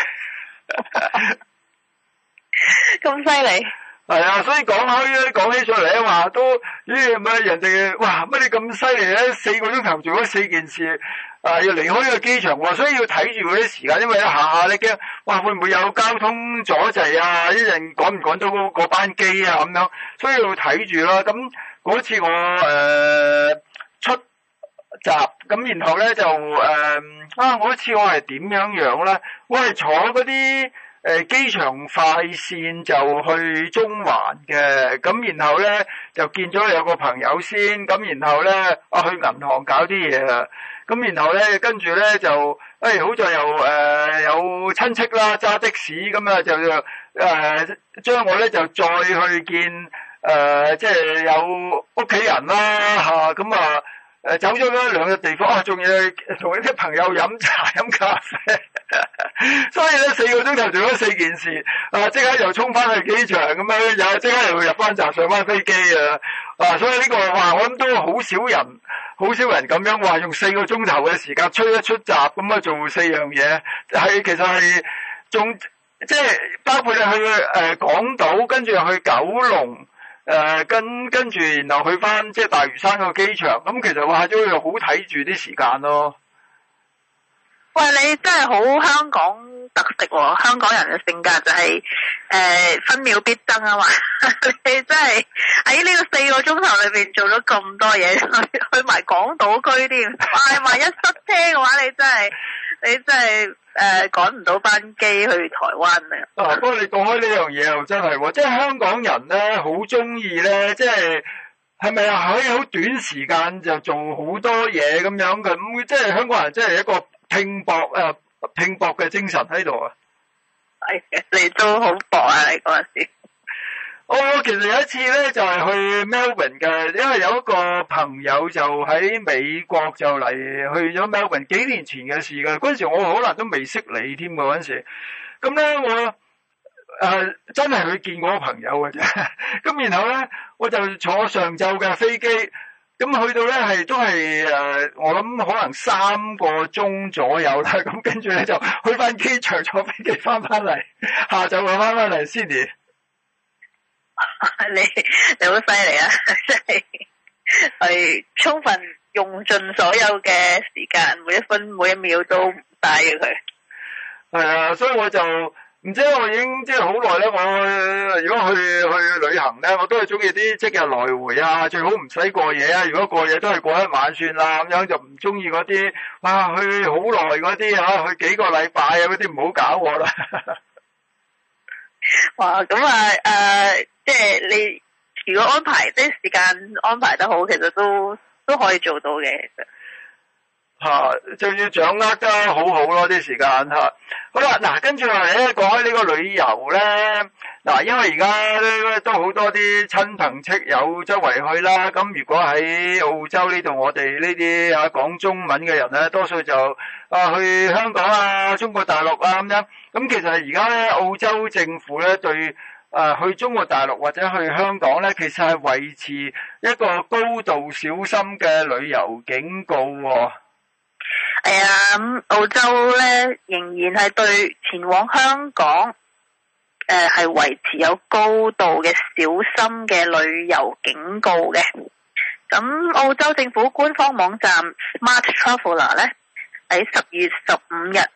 咁犀利。 係啊，所以講開講起上嚟咧，話都咦乜人哋哇乜你咁犀利咧？四個鐘頭做咗四件事。啊！要離開呢個機場喎，所以要睇住嗰啲時間，因為一下下你驚，哇會唔會有交通阻滯啊？一陣趕唔趕到嗰嗰班機啊咁樣，所以要睇住啦。咁嗰次我誒、呃、出閘，咁然後咧就誒、呃、啊！嗰次我係點樣樣咧？我係坐嗰啲誒機場快線就去中環嘅，咁然後咧就見咗有個朋友先，咁然後咧啊去銀行搞啲嘢啊。咁然後咧，跟住咧就，誒、哎、好在又誒、呃、有親戚啦，揸的士咁啊，就誒、呃、將我咧就再去見誒、呃，即係有屋企人啦嚇，咁啊誒走咗咧兩個地方啊，仲要同啲朋友飲茶飲咖啡，所以咧四個鐘頭做咗四件事，啊即刻又衝翻去機場咁樣，又即刻又入翻閘上翻飛機啊，啊所以呢個話我諗都好少人。好少人咁樣話用四個鐘頭嘅時間出一出閘咁啊做四樣嘢，係其實係仲即係包括你去誒、呃、港島，跟住又去九龍，誒、呃、跟跟住然後去翻即係大嶼山個機場，咁其實話都要好睇住啲時間咯。 喂，你真係好香港特色喎、哦！香港人嘅性格就係、是、誒、呃、分秒必爭啊嘛！你真係喺呢個四個鐘頭裏邊做咗咁多嘢，去去埋港島區添。唉，萬一塞車嘅話，你真係你真係誒趕唔到班機去台灣啊！ 啊，不過你講開呢樣嘢又真係喎，即係香港人咧好中意咧，即係係咪啊？可以好短時間就做好多嘢咁樣嘅，咁即係香港人真係一個拼搏誒，拼搏嘅精神喺度啊！ 係你都好搏啊！你嗰陣時， 我其實有一次咧，就係去 Melbourne 嘅，因為有一個朋友就喺美國就嚟去咗 Melbourne，幾年前嘅事㗎。嗰陣時我可能都未識你添㗎嗰陣時，咁咧我誒真係去見我個朋友嘅啫。咁然後咧，我就坐上晝嘅飛機。咁去到咧係都係誒，我諗可能三個鐘左右啦。咁跟住咧就去翻機場坐飛機翻翻嚟，下晝又翻翻嚟 Sydney。 你你好犀利啊！即係係充分用盡所有嘅時間，每一分每一秒都唔嘥嘅佢。 係啊，所以我就。唔知我已經即係好耐咧，我如果去去旅行咧，我都係中意啲即日來回啊，最好唔使過夜啊。如果過夜都係過一晚算啦，咁樣就唔中意嗰啲哇去好耐嗰啲嚇，去幾個禮拜啊嗰啲唔好搞我啦。哇，咁啊誒，即係你如果安排即係時間安排得好，其實都都可以做到嘅。其實嚇，就要掌握得好好咯啲時間嚇。好啦，嗱，跟住落嚟咧，講開呢個旅遊咧，嗱，因為而家咧都好多啲親朋戚友周圍去啦。咁如果喺澳洲呢度，我哋呢啲啊講中文嘅人咧，多數就啊去香港啊、中國大陸啊咁樣。咁其實而家咧，澳洲政府咧對啊去中國大陸或者去香港咧，其實係維持一個高度小心嘅旅遊警告喎。係啊，咁澳洲咧仍然係對前往香港誒係維持有高度嘅小心嘅旅遊警告嘅。咁澳洲政府官方網站 Smart Traveller 咧喺十月十五日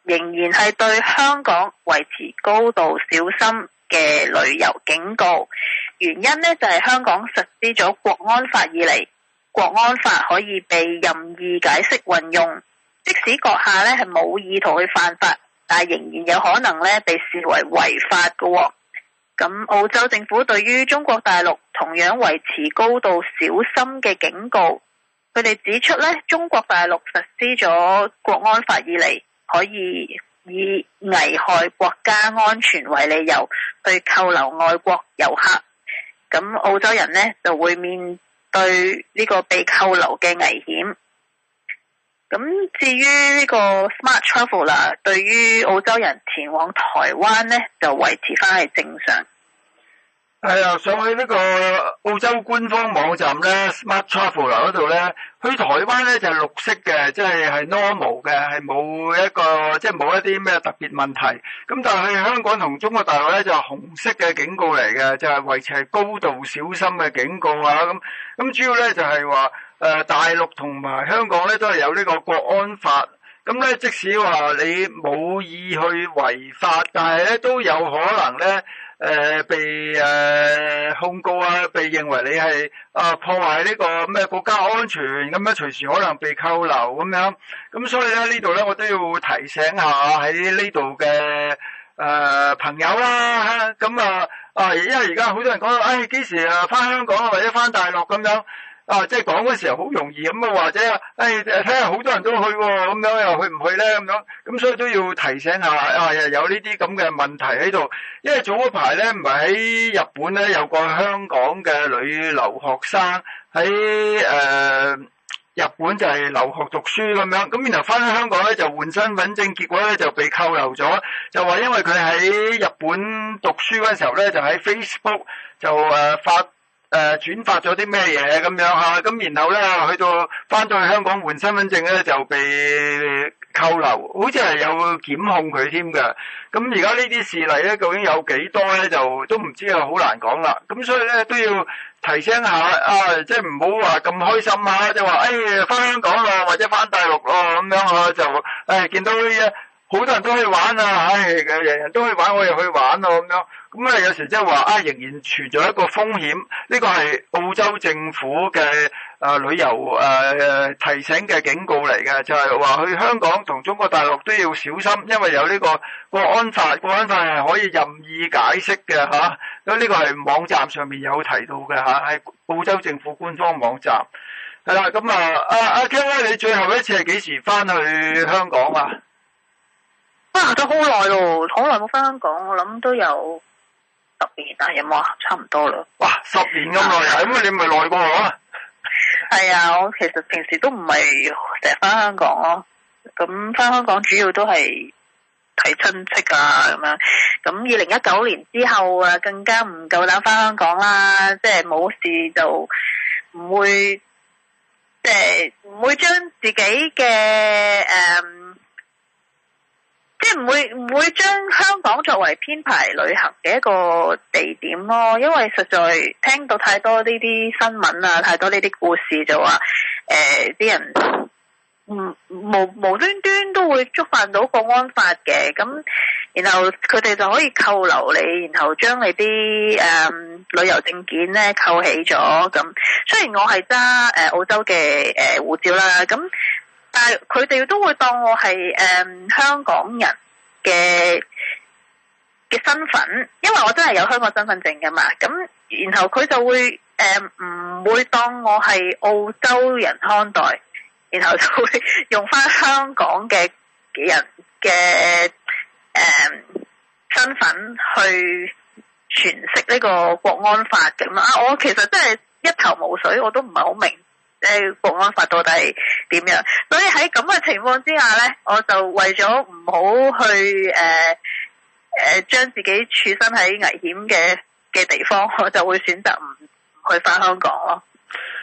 仍然係對香港維持高度小心嘅旅遊警告。原因呢，就係香港實施咗國安法以嚟，國安法可以被任意解釋運用，即使閣下呢係冇意圖去犯法，但係仍然有可能呢被視為違法嘅喎。咁澳洲政府對於中國大陸同樣維持高度小心嘅警告，佢哋指出呢，中國大陸實施咗國安法以嚟，可以以危害國家安全為理由去扣留外國遊客，咁澳洲人呢就會面對呢個被扣留嘅危險。咁至於呢個 Smart Travel 啦，對於澳洲人前往台灣呢，就維持翻係正常。 係啊，上去呢個澳洲官方網站咧 Smart Travel 嗰度咧，去台灣咧就係綠色嘅，即係係 normal 嘅，係冇一個即係冇一啲咩特別問題。咁但係去香港同中國大陸咧就係紅色嘅警告嚟嘅，就係維持係高度小心嘅警告啊。咁咁主要咧就係話誒大陸同埋香港咧都係有呢個國安法。咁咧即使話你冇意去違法，但係咧都有可能咧。誒、呃，被誒、呃、控告啊，被認為你係啊破壞呢個咩國家安全，咁樣隨時可能被扣留咁樣，咁所以咧呢度咧我都要提醒下喺呢度嘅誒朋友啦，咁啊啊，因為而家好多人講，唉、哎、幾時啊翻香港啊或者翻大陸咁樣。啊，即係講嗰時候好容易咁啊，或者誒睇下好多人都去喎，咁樣又去唔去咧咁樣，咁所以都要提醒下啊，又有呢啲咁嘅問題喺度。因為早嗰排咧，唔係喺日本咧有個香港嘅女留學生喺誒、呃、日本就係留學讀書咁樣，咁然後翻香港咧就換身份證，結果咧就被扣留咗，就話因為佢喺日本讀書嗰陣時候咧，就喺 Facebook 就誒、呃、發。誒、呃，轉發咗啲咩嘢咁樣吓，咁然後咧去到翻到去香港換身份證咧就被扣留，好似係有檢控佢添㗎。咁而家呢啲事例咧究竟有幾多咧，就都唔知啊，好難講啦。咁所以咧都要提醒下啊，即係唔好話咁開心啊，即係話誒翻香港咯，或者翻大陸咯咁樣啊，就誒、哎、見到呢好多人都去玩啊，唉，人人都去玩，我又去玩咯咁樣。咁啊，有時即係話啊，仍然存在一個風險。呢個係澳洲政府嘅誒、呃、旅遊誒、呃、提醒嘅警告嚟嘅，就係話去香港同中國大陸都要小心，因為有呢個國安法，國安法係可以任意解釋嘅嚇。咁、啊、呢個係網站上面有提到嘅嚇，係、啊、澳洲政府官方網站。係啦，咁啊，阿阿 Ken，你最後一次係幾時翻去香港啊？ 啊，都好耐咯，好耐冇翻香港，我諗都有十年啊，有冇啊？差唔多啦。 哇，十年咁耐啊！咁啊，你咪耐過我啊？ 係啊，我其實平時都唔係成日翻香港咯。咁翻香港主要都係睇親戚啊咁樣。咁二零一九年之後啊，更加唔夠膽翻香港啦。即係冇事就唔會，即係唔會將自己嘅誒。嗯即係唔會唔會將香港作為編排旅行嘅一個地點咯，因為實在聽到太多呢啲新聞啊，太多呢啲故事就話誒啲人唔無無端端都會觸犯到國安法嘅，咁然後佢哋就可以扣留你，然後將你啲誒、呃、旅遊證件咧扣起咗。咁雖然我係揸誒澳洲嘅誒護照啦，咁。但係佢哋都會當我係誒、嗯、香港人嘅嘅身份，因為我真係有香港身份證㗎嘛。咁然後佢就會誒唔、嗯、會當我係澳洲人看待，然後就會用返香港嘅人嘅誒、嗯、身份去詮釋呢個國安法咁啊！我其實真係一頭霧水，我都唔係好明。誒，國安法到底點樣？所以喺咁嘅情況之下咧，我就為咗唔好去誒誒將自己處身喺危險嘅嘅地方，我就會選擇唔唔去翻香港咯。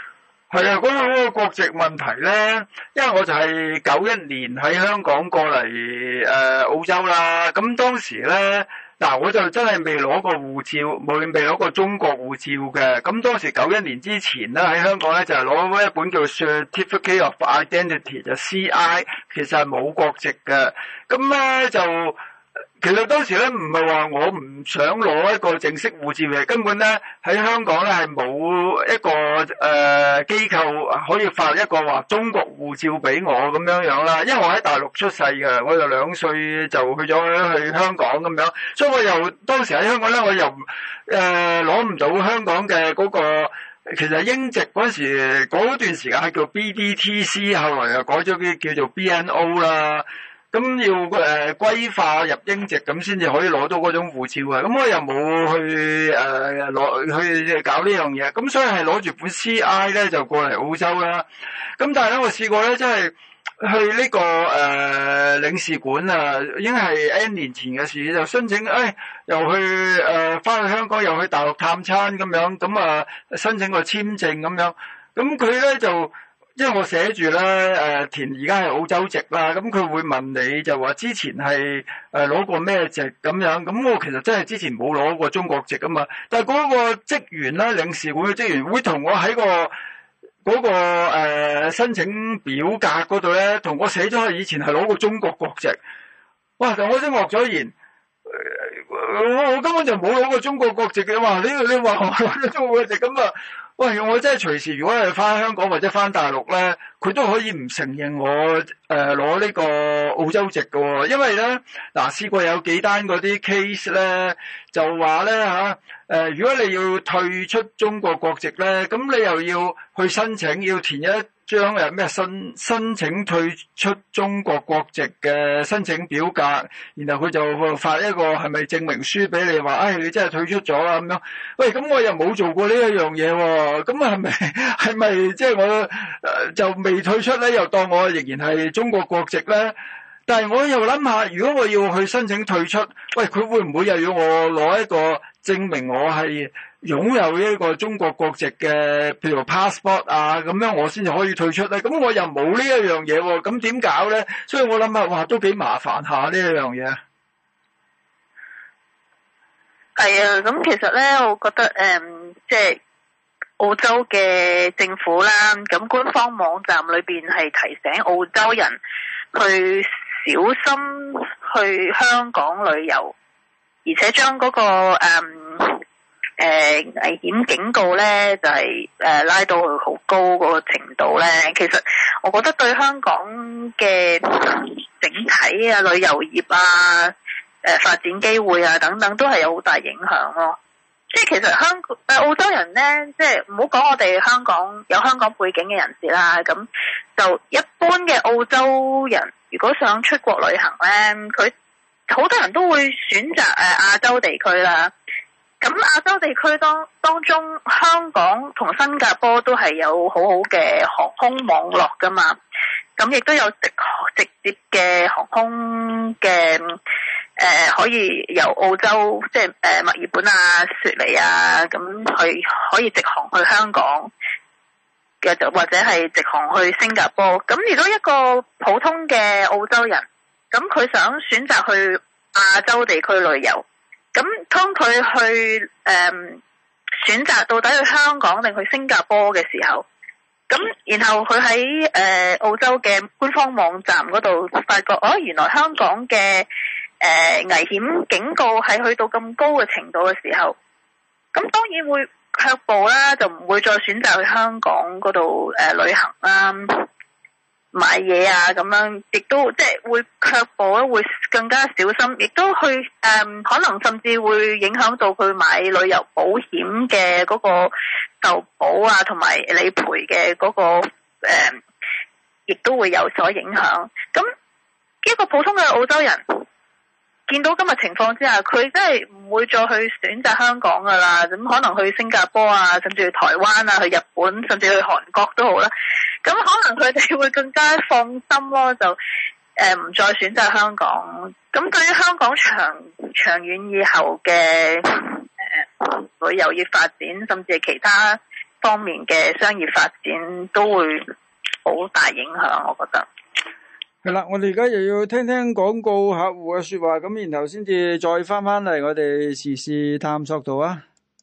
係啊，嗰、那個嗰個國籍問題咧，因為我就係九一年喺香港過嚟誒、呃、澳洲啦，咁當時咧嗱我就真係未攞過護照，冇未攞過中國護照嘅，咁當時九一年之前咧喺香港咧就係攞一本叫 Certificate of Identity 就 C I， 其實係冇國籍嘅，咁咧就。其實當時咧唔係話我唔想攞一個正式護照嘅，根本咧喺香港咧係冇一個誒、呃、機構可以發一個話中國護照俾我咁樣樣啦。因為我喺大陸出世嘅，我就兩歲就去咗去香港咁樣，所以我又當時喺香港咧，我又誒攞唔到香港嘅嗰、那個。其實英籍嗰時嗰段時間係叫 B D T C， 後來又改咗啲叫做 B N O 啦。咁要誒歸化入英籍咁先至可以攞到嗰種護照嘅，咁我又冇去誒攞、呃、去搞呢樣嘢，咁所以係攞住本 C I 咧就過嚟澳洲啦。咁但係咧我試過咧，真係去呢、這個誒、呃、領事館啊，已經係 N 年前嘅事，就申請誒、哎、又去誒翻、呃、去香港，又去大陸探親咁樣，咁啊申請個簽證咁樣，咁佢咧就。因為我寫住咧，誒填而家係澳洲籍啦，咁佢會問你就話之前係誒攞過咩籍咁樣，咁我其實真係之前冇攞過中國籍噶嘛，但係嗰個職員咧，領事館嘅職員會同我喺個嗰個誒申請表格嗰度咧，同我寫咗以前係攞過中國國籍，哇！但我先愕咗然。我我根本就冇攞過中國國籍嘅，話你你話我攞咗中國國籍咁啊？喂，我真係隨時如果係翻香港或者翻大陸咧，佢都可以唔承認我誒攞呢個澳洲籍嘅喎，因為咧嗱試過有幾單嗰啲 case 咧，就話咧嚇誒，如果你要退出中國國籍咧，咁你又要去申請，要填一張誒咩申申請退出中國國籍嘅申請表格，然後佢就發一個係咪證明書俾你，話誒、哎、你真係退出咗啦咁樣。喂，咁我又冇做過呢一樣嘢喎，咁係咪係咪即係我誒、呃、就未退出咧，又當我仍然係中國國籍咧？但係我又諗下，如果我要去申請退出，喂，佢會唔會又要我攞一個證明我係擁有一個中國國籍嘅，譬如 passport 啊，咁樣我先至可以退出咧？咁我又冇呢一樣嘢喎，咁點搞咧？所以我諗下，哇，都幾麻煩下呢一樣嘢。 係啊，咁其實咧，我覺得誒、嗯，即係澳洲嘅政府啦，咁官方網站裏邊係提醒澳洲人去小心去香港旅遊，而且將嗰、嗰個誒誒、嗯呃、危險警告咧，就係、是、誒、呃、拉到去好高嗰個程度咧。其實我覺得對香港嘅整體啊旅遊業啊、誒、呃、發展機會啊等等，都係有好大影響咯。即係其實香誒、呃、澳洲人咧，即係唔好講我哋香港有香港背景嘅人士啦，咁就一般嘅澳洲人，如果想出國旅行咧，佢好多人都會選擇誒亞洲地區啦。咁亞洲地區當當中，香港同新加坡都係有好好嘅航空網絡噶嘛。咁亦都有直直接嘅航空嘅誒、呃，可以由澳洲即係誒墨爾本啊、雪梨啊，咁去可以直航去香港嘅，就或者係直航去新加坡。咁如果一個普通嘅澳洲人，咁佢想選擇去亞洲地區旅遊。咁當佢去誒、呃、選擇到底去香港定去新加坡嘅時候，咁然後佢喺誒澳洲嘅官方網站嗰度發覺，哦，原來香港嘅誒、呃、危險警告係去到咁高嘅程度嘅時候，咁當然會卻步啦，就唔會再選擇去香港嗰度誒旅行啦。買嘢啊咁樣，亦都即係會卻步咧，會更加小心，亦都去誒、嗯，可能甚至會影響到佢買旅遊保險嘅嗰個受保啊，同埋理賠嘅嗰個誒，亦、嗯、都會有所影響。咁一個普通嘅澳洲人見到今日情況之下，佢真係唔會再去選擇香港噶啦，咁可能去新加坡啊，甚至去台灣啊，去日本，甚至去韓國都好啦。咁可能佢哋會更加放心咯，就誒唔、呃、再選擇香港。咁對於香港長長遠以後嘅誒、呃、旅遊業發展，甚至係其他方面嘅商業發展都會好大影響，我覺得。 係啦，我哋而家又要聽聽廣告客戶嘅說話，咁然後先至再翻翻嚟我哋時事探索度啊。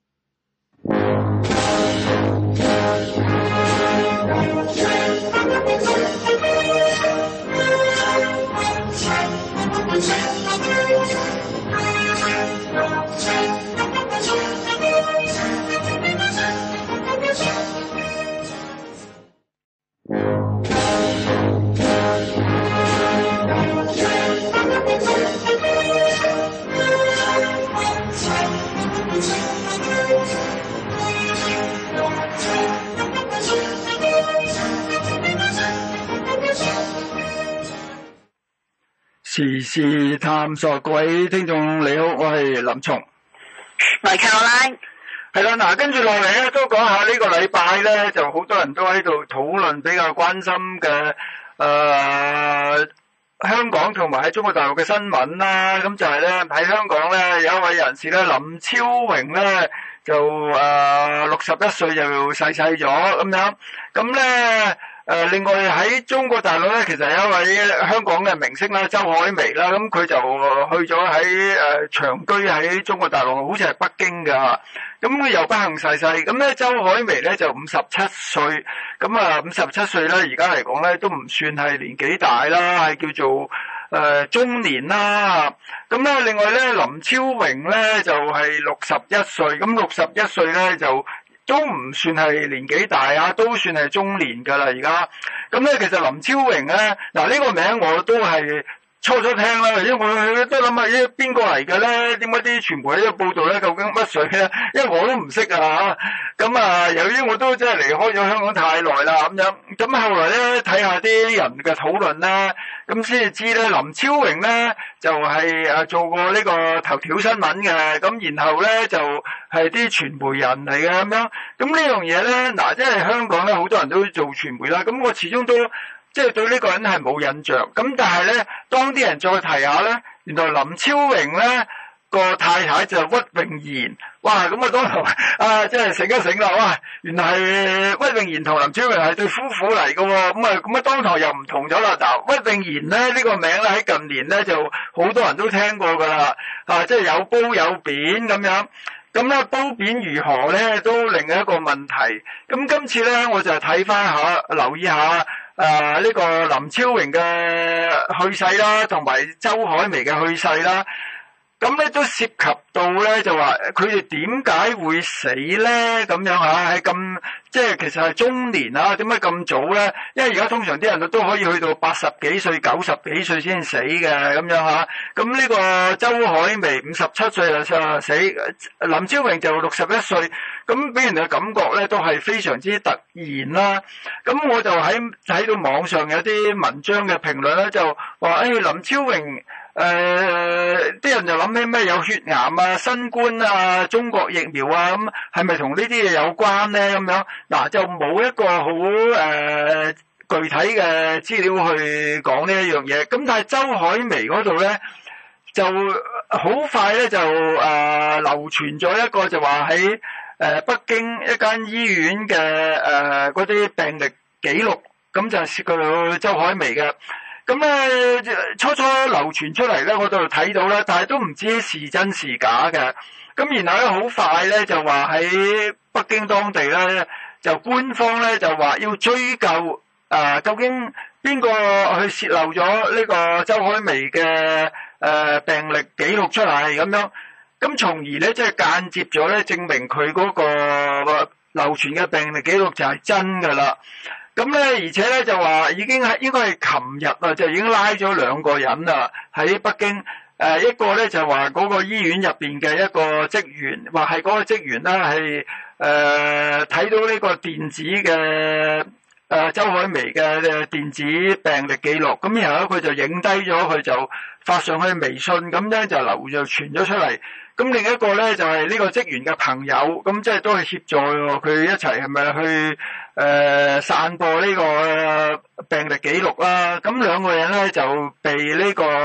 時事探索，各位聽眾你好，我係林松， 我係 Caroline。 係啦，嗱，跟住落嚟咧，都講下呢個禮拜咧，就好多人都喺度討論比較關心嘅誒、呃、香港同埋喺中國大陸嘅新聞啦。咁就係咧喺香港咧有一位人士咧林超榮咧就誒六十一歲就逝世咗咁樣，咁咧。誒、呃，另外喺中國大陸咧，其實有一位香港嘅明星啦，周海媚啦，咁佢就去咗喺誒長居喺中國大陸，好似係北京噶，咁佢又不幸逝世。咁咧，周海媚咧就五十七歲，咁啊五十七歲咧，而家嚟講咧都唔算係年紀大啦，係叫做誒、呃、中年啦。咁咧，另外咧，林超榮咧就係六十一歲，咁六十一歲咧就。都唔算係年紀大啊，都算係中年噶啦而家。咁咧，其實林超榮咧，嗱呢個名我都係初初聽啦，因為我都諗下咦邊個嚟嘅咧？點解啲傳媒喺度報道咧？究竟乜水咧？因為我都唔識啊。咁啊，由於我都真係離開咗香港太耐啦，咁樣。咁後來咧睇下啲人嘅討論咧，咁先至知咧林超榮咧就係誒做過呢個頭條新聞嘅，咁然後咧就係啲傳媒人嚟嘅咁樣。咁呢樣嘢咧，嗱即係香港咧好多人都做傳媒啦，咁我始終都。即係對呢個人係冇印象，咁但係咧，當啲人再提下咧，原來林超榮咧個太太就係屈穎妍，哇！咁啊當堂啊，即係醒一醒啦，哇！原來係屈穎妍同林超榮係對夫婦嚟嘅喎，咁啊咁啊當堂又唔同咗啦。嗱，屈穎妍咧呢、呢個名咧喺近年咧就好多人都聽過㗎啦，啊，即係有褒有貶咁樣。咁咧褒貶如何咧，都另一個問題。咁今次咧，我就睇翻下，留意下。誒、呃，呢、這個林超榮嘅去世啦，同埋周海媚嘅去世啦，咁咧都涉及到咧就話佢哋點解會死咧？咁樣吓，係咁即係其實係中年啊？點解咁早咧？因為而家通常啲人都可以去到八十幾歲、九十幾歲先死嘅咁樣吓。咁呢個周海媚五十七歲就死，林超榮就六十一歲。咁俾人嘅感覺咧，都係非常之突然啦。咁我就喺睇到網上有啲文章嘅評論咧，就話誒、哎、林超榮誒，啲、呃、人就諗起咩有血癌啊、新冠啊、中國疫苗啊，咁係咪同呢啲嘢有關咧？咁樣嗱，就冇一個好誒、呃、具體嘅資料去講呢一樣嘢。咁但係周海媚嗰度咧，就好快咧就誒、呃、流傳咗一個就話喺。誒，北京一間醫院嘅誒嗰啲病歷記錄，咁就涉及到周海媚嘅。咁咧初初流傳出嚟咧，我都睇到啦，但係都唔知是真是假嘅。咁然後咧好快咧就話喺北京當地咧，就官方咧就話要追究誒、呃，究竟邊個去洩漏咗呢個周海媚嘅誒、呃、病歷記錄出嚟咁樣。咁從而咧，即係間接咗咧，證明佢嗰個流傳嘅病歷記錄就係真㗎啦。咁咧，而且咧就話已經係應該係琴日啊，就已經拉咗兩個人啦，喺北京。誒一個咧就話嗰個醫院入邊嘅一個職員，話係嗰個職員咧係誒睇到呢個電子嘅誒、呃、周海媚嘅電子病歷記錄，咁然後咧佢就影低咗，佢就發上去微信，咁咧就流就傳咗出嚟。咁另一個咧就係、是、呢個職員嘅朋友，咁即係都係協助佢一齊係咪去誒、呃、散播呢個病歷記錄啦？咁兩個人咧就被呢個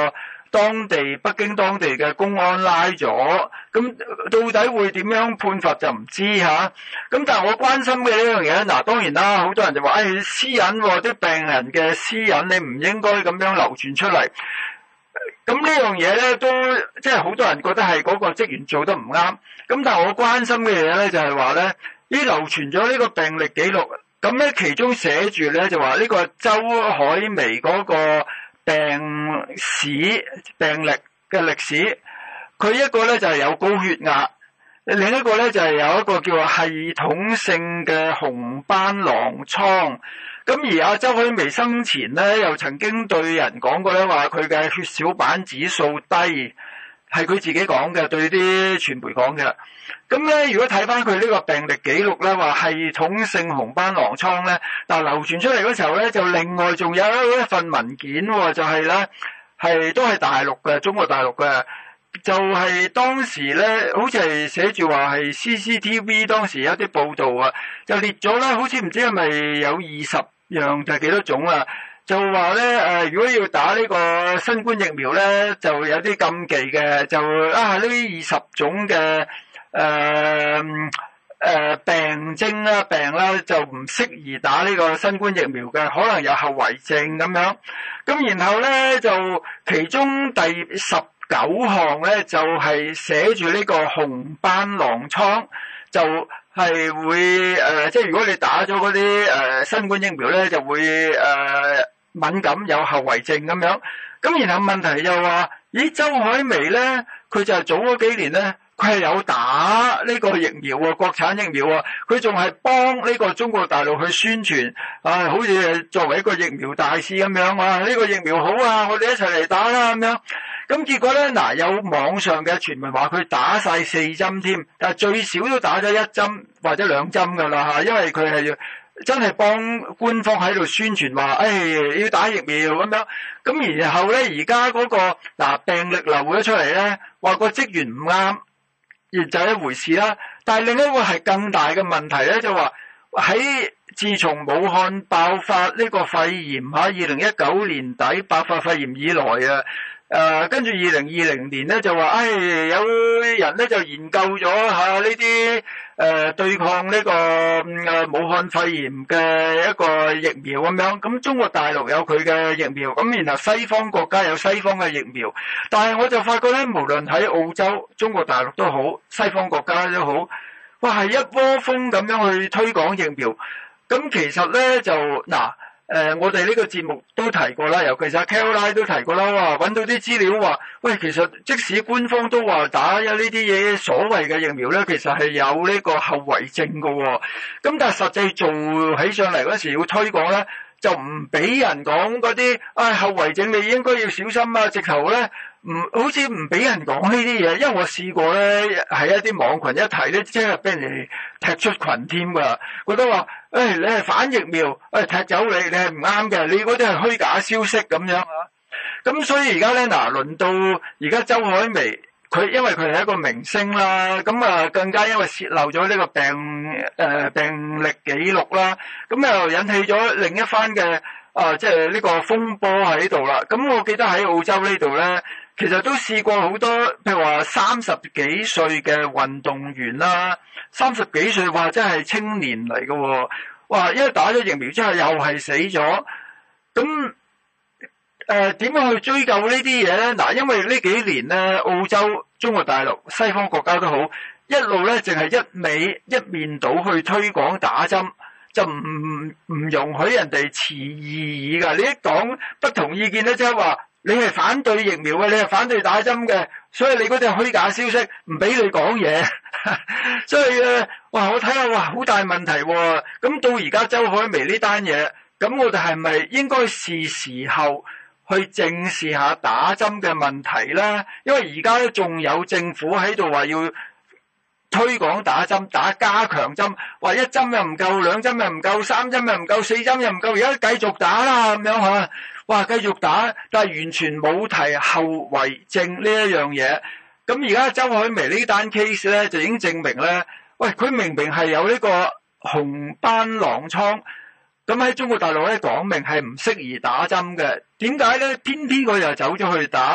當地北京當地嘅公安拉咗，咁到底會點樣判罰就唔知嚇。咁但係我關心嘅呢樣嘢，嗱當然啦，好多人就話，誒、哎、私隱喎，啲病人嘅私隱你唔應該咁樣流傳出嚟。咁呢樣嘢咧都即係好多人覺得係嗰個職員做得唔啱。咁但係我關心嘅嘢咧就係話咧，依流傳咗呢個病歷記錄，咁咧其中寫住咧就話呢個周海媚嗰個病史病歷嘅歷史，佢一個咧就係有高血壓，另一個咧就係有一個叫做系統性嘅紅斑狼瘡。咁而阿周海媚生前咧又曾經對人講過咧，話佢嘅血小板指數低，係佢自己講嘅，對啲傳媒講嘅。咁咧如果睇翻佢呢個病歷記錄咧，話系統性紅斑狼瘡咧，但流傳出嚟嗰時候咧，就另外仲有一份文件喎，就係咧係都係大陸嘅，中國大陸嘅。就係、是、當時咧，好似係寫住話係 C C T V 當時有啲報道啊，就列咗咧，好似唔知係咪有二十樣定係幾多種啊？就話咧誒，如果要打呢個新冠疫苗咧，就有啲禁忌嘅，就啊呢二十種嘅誒誒病徵啦、病啦，就唔適宜打呢個新冠疫苗嘅，可能有後遺症咁樣。咁然後咧就其中第十九項咧就係寫住呢個紅斑狼瘡，就係會誒、呃，即係如果你打咗嗰啲誒新冠疫苗咧，就會誒、呃、敏感有後遺症咁樣。咁然後問題又話，咦，周海媚咧，佢就係早嗰幾年咧，佢係有打呢個疫苗喎，國產疫苗喎，佢仲係幫呢個中國大陸去宣傳，啊，好似作為一個疫苗大使咁樣，哇，呢個疫苗好啊，我哋一齊嚟打啦咁樣。咁結果咧，嗱有網上嘅傳聞話佢打晒四針添，但係最少都打咗一針或者兩針㗎啦嚇，因為佢係真係幫官方喺度宣傳話，誒、哎、要打疫苗咁樣。咁然後咧，而家嗰個嗱病歷流咗出嚟咧，話個職員唔啱，亦就係一回事啦。但係另一個係更大嘅問題咧，就話喺自從武漢爆發呢個肺炎嚇，二零一九年底爆發肺炎以來啊。誒、呃，跟住二零二零年咧就話，誒、哎，有人咧就研究咗吓呢啲誒對抗呢、這個誒、呃、武漢肺炎嘅一個疫苗咁樣。咁中國大陸有佢嘅疫苗，咁然後西方國家有西方嘅疫苗。但係我就發覺咧，無論喺澳洲、中國大陸都好，西方國家都好，哇，係一窩蜂咁樣去推廣疫苗。咁其實咧就嗱。誒、呃，我哋呢個節目都提過啦，尤其是阿 Caroline 都提過啦，哇，搵到啲資料話，喂，其實即使官方都話打有呢啲嘢所謂嘅疫苗咧，其實係有呢個後遺症㗎喎。咁但係實際做起上嚟嗰時要推廣咧，就唔俾人講嗰啲，唉、哎，後遺症你應該要小心啊！直頭咧，唔好似唔俾人講呢啲嘢，因為我試過咧，喺一啲網群一提咧，即係俾人哋踢出群添㗎，覺得話，誒、哎，你係反疫苗，誒、哎，踢走你，你係唔啱嘅，你嗰啲係虛假消息咁樣啊！咁所以而家咧，嗱，輪到而家周海媚。佢因為佢係一個明星啦，咁啊更加因為洩漏咗呢個病誒、呃、病歷記錄啦，咁又引起咗另一番嘅啊即係呢個風波喺度啦。咁我記得喺澳洲呢度咧，其實都試過好多，譬如話三十幾歲嘅運動員啦，三十幾歲話真係青年嚟嘅喎，哇！因為打咗疫苗之後又係死咗，咁。誒點樣去追究呢啲嘢咧？嗱，因為呢幾年咧，澳洲、中國大陸、西方國家都好，一路咧淨係一味一面倒去推廣打針，就唔唔容許人哋持異議㗎。你一講不同意見咧，即係話你係反對疫苗嘅，你係反對打針嘅，所以你嗰啲係虛假消息，唔俾你講嘢。所以咧，哇！我睇下，哇，好大問題喎。咁到而家周海媚呢單嘢，咁我哋係咪應該是時候去正視下打針嘅問題啦？因為而家咧仲有政府喺度話要推廣打針，打加強針，話一針又唔夠，兩針又唔夠，三針又唔夠，四針又唔夠，而家繼續打啦咁樣嚇，哇，繼續打，但係完全冇提後遺症呢一樣嘢。咁而家周海媚呢單 case 咧就已經證明咧，喂，佢明明係有呢個紅斑狼瘡。咁喺中國大陸咧講明係唔適宜打針嘅，點解咧？偏偏佢又走咗去打，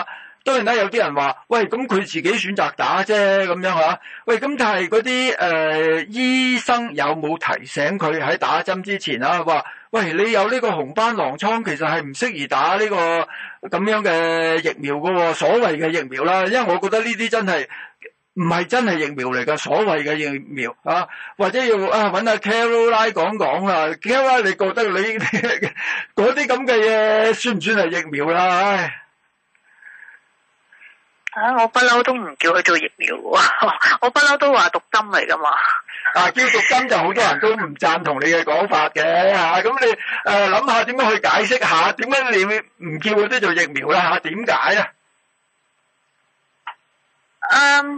當然啦，有啲人話，喂，咁佢自己選擇打啫，咁樣吓。喂，咁但係嗰啲誒醫生有冇提醒佢喺打針之前啊？話，喂，你有呢個紅斑狼瘡，其實係唔適宜打呢個咁樣嘅疫苗噶，所謂嘅疫苗啦。因為我覺得呢啲真係唔係真係疫苗嚟噶，所謂嘅疫苗啊，或者要啊揾阿 Caroline 講講啦。Caroline，你覺得你嗰啲咁嘅嘢算唔算係疫苗啦？唉。 啊！我不嬲都唔叫佢做疫苗喎，我不嬲都話毒針嚟噶嘛。 啊，叫毒針就好多人都唔贊同你嘅講法嘅嚇，咁、啊、你誒諗下點樣去解釋下，點解你唔叫嗰啲做疫苗啦嚇？點解啊？ 嗯，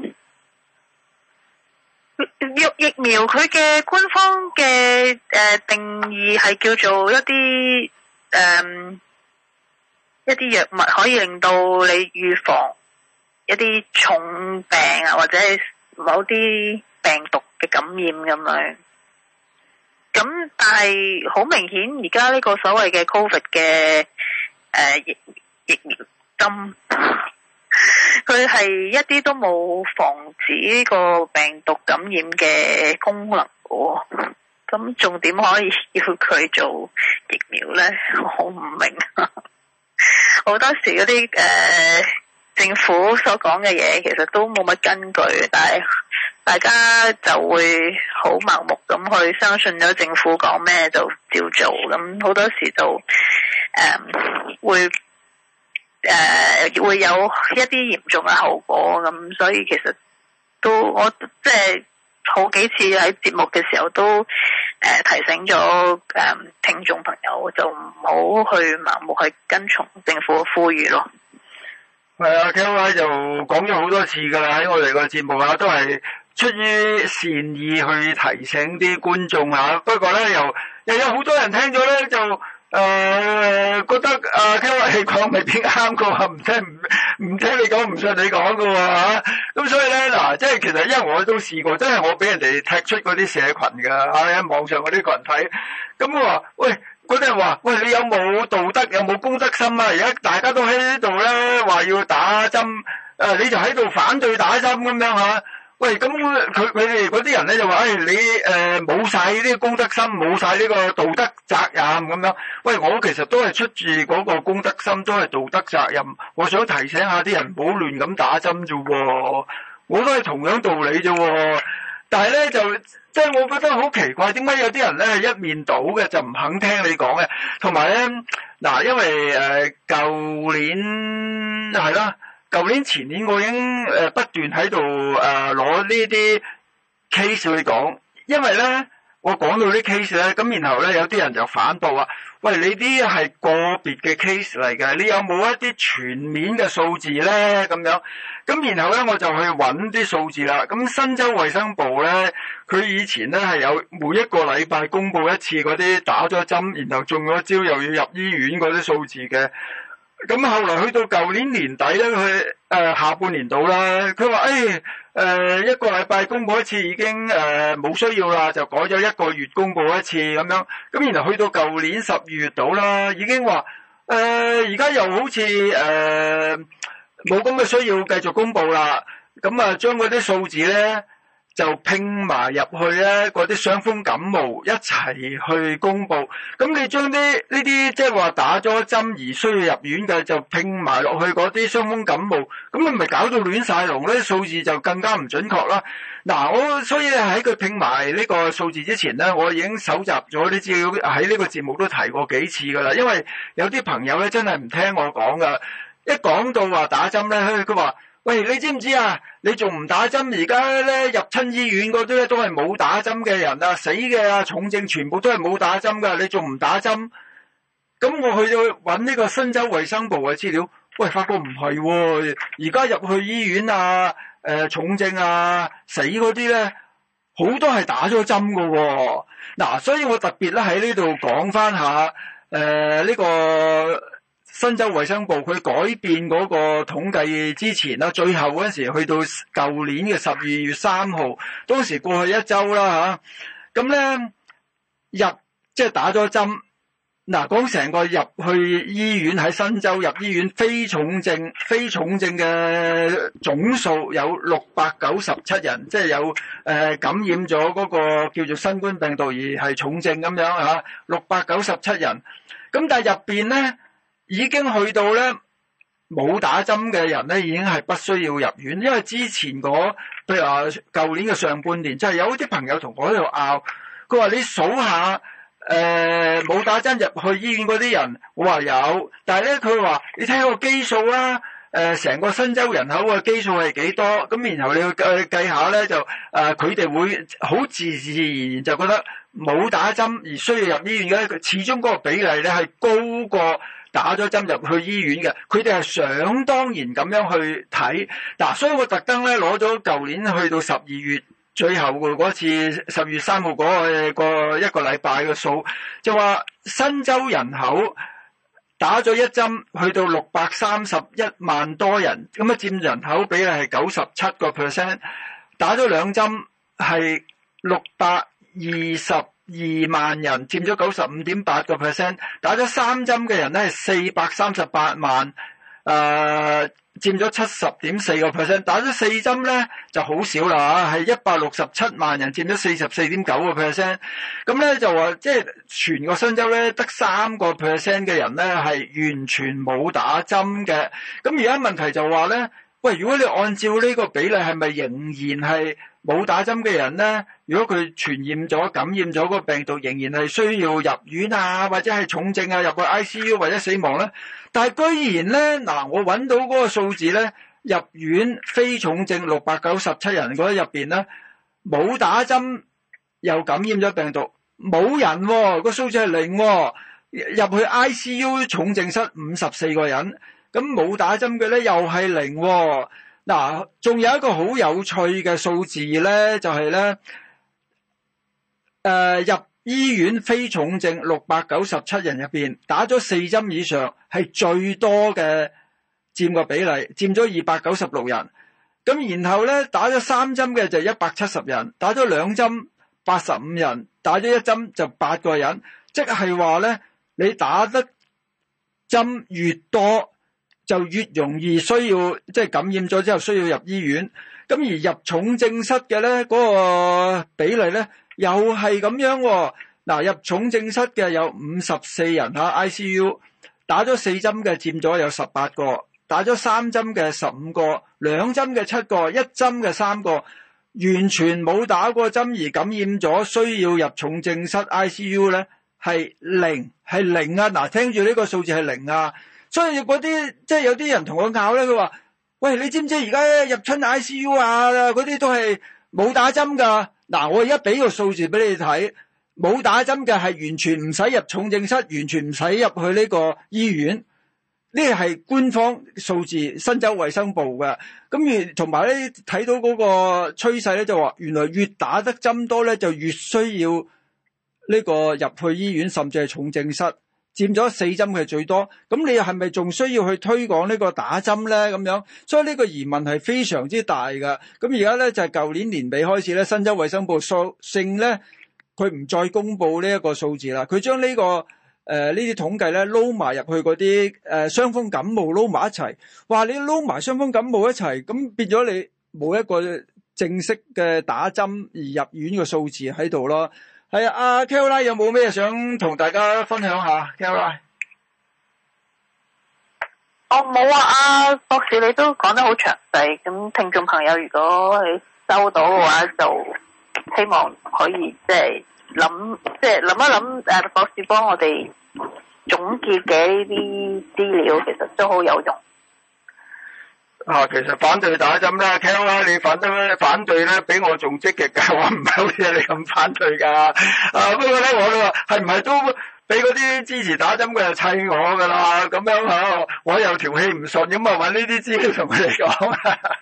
疫疫苗佢嘅官方嘅誒、呃、定義係叫做一啲誒、呃、一啲藥物可以令到你預防一啲重病啊，或者係某啲病毒嘅感染咁樣。咁但係好明顯，而家呢個所謂嘅 Covid 嘅誒、呃、疫疫苗針，佢係一啲都冇防止呢個病毒感染嘅功能喎。咁仲點可以要佢做疫苗咧？我唔明。好多時嗰啲誒。呃政府所講嘅嘢其實都冇乜根據，但係大家就會好盲目咁去相信咗政府講咩就照做，咁好多時就誒、嗯、會誒、呃、會有一啲嚴重嘅後果，咁所以其實都我即係好幾次喺節目嘅時候都誒、呃、提醒咗誒、嗯、聽眾朋友就唔好去盲目去跟從政府嘅呼籲咯。 係啊 Kelly 就講咗好多次噶啦，喺我哋個節目啊，都係出於善意去提醒啲觀眾啊。不過咧，又又有好多人聽咗咧，就誒、呃、覺得啊 Kelly 講未必啱噶喎，唔聽唔唔聽你講，唔信你講噶喎吓。咁所以咧嗱，即係其實因為我都試過，真係我俾人哋踢出嗰啲社群噶，喺網上嗰啲群體。咁我話喂。嗰啲人話：喂，你有冇道德，有冇公德心啊？而家大家都喺呢度咧，話要打針，誒、呃，你就喺度反對打針咁樣嚇。喂，咁佢佢哋嗰啲人咧就話：誒、哎，你誒冇晒呢啲公德心，冇晒呢個道德責任咁樣。喂，我其實都係出自嗰個公德心，都係道德責任。我想提醒下啲人唔好亂咁打針啫喎，我都係同樣道理啫喎。但係咧就即係我覺得好奇怪，點解有啲人咧係一面倒嘅，就唔肯聽你講嘅？同埋咧嗱，因為誒舊、呃、年係啦，舊年前年我已經誒不斷喺度誒攞呢啲 case 去講，因為咧我講到啲 case 咧，咁然後咧有啲人就反駁話：喂，你啲係個別嘅 case 嚟嘅，你有冇一啲全面嘅數字咧？咁樣。咁然後咧我就去揾啲數字啦。咁新州衛生部咧，佢以前咧係有每一個禮拜公布一次嗰啲打咗針，然後中咗招又要入醫院嗰啲數字嘅。咁後來去到舊年年底咧，佢誒、呃、下半年度啦，佢話誒誒一個禮拜公布一次已經誒冇、呃、需要啦，就改咗一個月公布一次咁樣。咁然後去到舊年十二月度啦，已經話誒而家又好似誒冇咁嘅需要繼續公布啦。咁啊將嗰啲數字咧就拼埋入去咧，嗰啲傷風感冒一齊去公布。咁你將啲呢啲即係話打咗針而需要入院嘅，就拼埋落去嗰啲傷風感冒，咁你咪搞到亂晒龍咧，數字就更加唔準確啦。嗱，我所以喺佢拼埋呢個數字之前咧，我已經搜集咗啲資料，喺呢個節目都提過幾次噶啦。因為有啲朋友咧真係唔聽我講噶，一講到話打針咧，佢話：喂，你知唔知啊？你仲唔打針？而家咧入親醫院嗰啲咧都係冇打針嘅人啊，死嘅啊，重症全部都係冇打針噶。你仲唔打針？咁我去到揾呢個新州衛生部嘅資料，喂，發覺唔係喎。而家入去醫院啊，誒、呃、重症啊，死嗰啲咧，好多係打咗針噶喎。嗱，所以我特別咧喺呢度講翻下，誒、呃、呢、這個。新州衛生部佢改變嗰個統計之前啦，最後嗰陣時去到舊年嘅十二月三號，當時過去一周啦吓，咁咧入即係打咗針嗱，講成個入去醫院喺新州入醫院非重症非重症嘅總數有六百九十七人，即係有誒、呃、感染咗嗰個叫做新冠病毒而係重症咁樣嚇，六百九十七人。咁但係入邊咧已經去到咧冇打針嘅人咧已經係不需要入院，因為之前嗰譬如話舊年嘅上半年，就係、是、有啲朋友同我喺度拗，佢話你數下。誒冇、呃、打針入去醫院嗰啲人，我話有，但係咧佢話你睇下個基數啦，誒、呃、成個新州人口嘅基數係幾多？咁然後你去計計下咧，就誒佢哋會好自自然然就覺得冇打針而需要入醫院嘅，始終嗰個比例咧係高過打咗針入去醫院嘅，佢哋係想當然咁樣去睇。嗱、啊，所以我特登咧攞咗舊年去到十二月。最後嗰次十月三號嗰個一個禮拜嘅數，就話新州人口打咗一針去到六百三十一萬多人，咁啊佔人口比例係九十七個 percent， 打咗兩針係六百二十二萬人，佔咗九十五點八個 percent， 打咗三針嘅人咧係四百三十八萬，誒、呃。佔咗七十點四個 percent， 打咗四針咧就好少啦嚇，係一百六十七萬人，佔咗四十四點九個 percent。咁咧就話即係全個新州咧得三個 percent 嘅人咧係完全冇打針嘅。咁而家問題就話咧，喂，如果你按照呢個比例，係咪仍然係冇打針嘅人咧？如果佢傳染咗、感染咗個病毒，仍然係需要入院啊，或者係重症啊，入個 I C U 或者死亡咧？但係居然咧，嗱，我揾到嗰個數字咧，入院非重症六百九十七人嗰入邊咧，冇打針又感染咗病毒，冇人喎、哦，個數字係零喎，入去 I C U 重症室五十四個人，咁冇打針嘅咧又係零喎。嗱，仲有一個好有趣嘅數字咧，就係咧，誒入醫院非重症六百九十七人入邊，打咗四針以上係最多嘅，佔個比例，佔咗二百九十六人。咁然後咧，打咗三針嘅就一百七十人，打咗兩針八十五人，打咗一針就八個人。即係話咧，你打得針越多，就越容易需要，即係感染咗之後需要入醫院。咁而入重症室嘅咧，嗰個比例咧又係咁樣喎。嗱，入重症室嘅有五十四人嚇 I C U， 打咗四針嘅佔咗有十八個，打咗三針嘅十五個，兩針嘅七個，一針嘅三個，完全冇打過針而感染咗需要入重症室 I C U 咧係零，係零啊！嗱，聽住呢個數字係零啊！所以嗰啲即係有啲人同我拗咧，佢話：喂，你知唔知而家入親 I C U 啊？嗰啲都係冇打針㗎。嗱，我而家俾個數字俾你睇，冇打針嘅係完全唔使入重症室，完全唔使入去呢個醫院。呢個係官方數字，新州衛生部嘅。咁而同埋咧睇到嗰個趨勢咧，就話原來越打得針多咧，就越需要呢個入去醫院，甚至係重症室。佔咗四針嘅最多，咁你係咪仲需要去推廣呢個打針咧？咁樣，所以呢個疑問係非常之大㗎。咁而家咧就係、是、舊年年尾開始咧，新州衛生部索性咧，佢唔再公布呢一個數字啦，佢將呢、這個誒呢啲統計咧撈埋入去嗰啲誒傷風感冒撈埋一齊，話你撈埋傷風感冒一齊，咁變咗你冇一個正式嘅打針而入院嘅數字喺度咯。係啊，阿 Kelly 有冇咩想同大家分享下 ？Kelly， 我冇啊，阿博士你都講得好詳細，咁聽眾朋友如果你收到嘅話，就希望可以即係諗，即係諗一諗誒，博士幫我哋總結嘅呢啲資料，其實都好有用。 啊，其實反對打針啦 ，Kel 啦，你反對反對咧，比我仲積極噶，我唔係好似你咁反對噶。啊，不過咧，我都話係唔係都俾嗰啲支持打針嘅就砌我噶啦，咁樣嚇，我又條氣唔順，咁啊揾呢啲資料同佢哋講。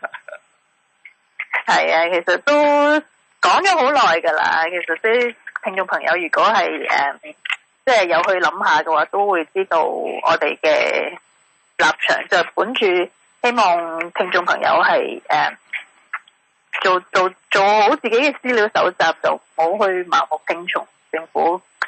係啊，其實都講咗好耐噶啦。其實啲聽眾朋友如果係誒，即、呃、係、就是、有去諗下嘅話，都會知道我哋嘅立場就係本住。希望聽眾朋友係誒、呃、做做做好自己嘅資料搜集，就唔好去盲目聽從政府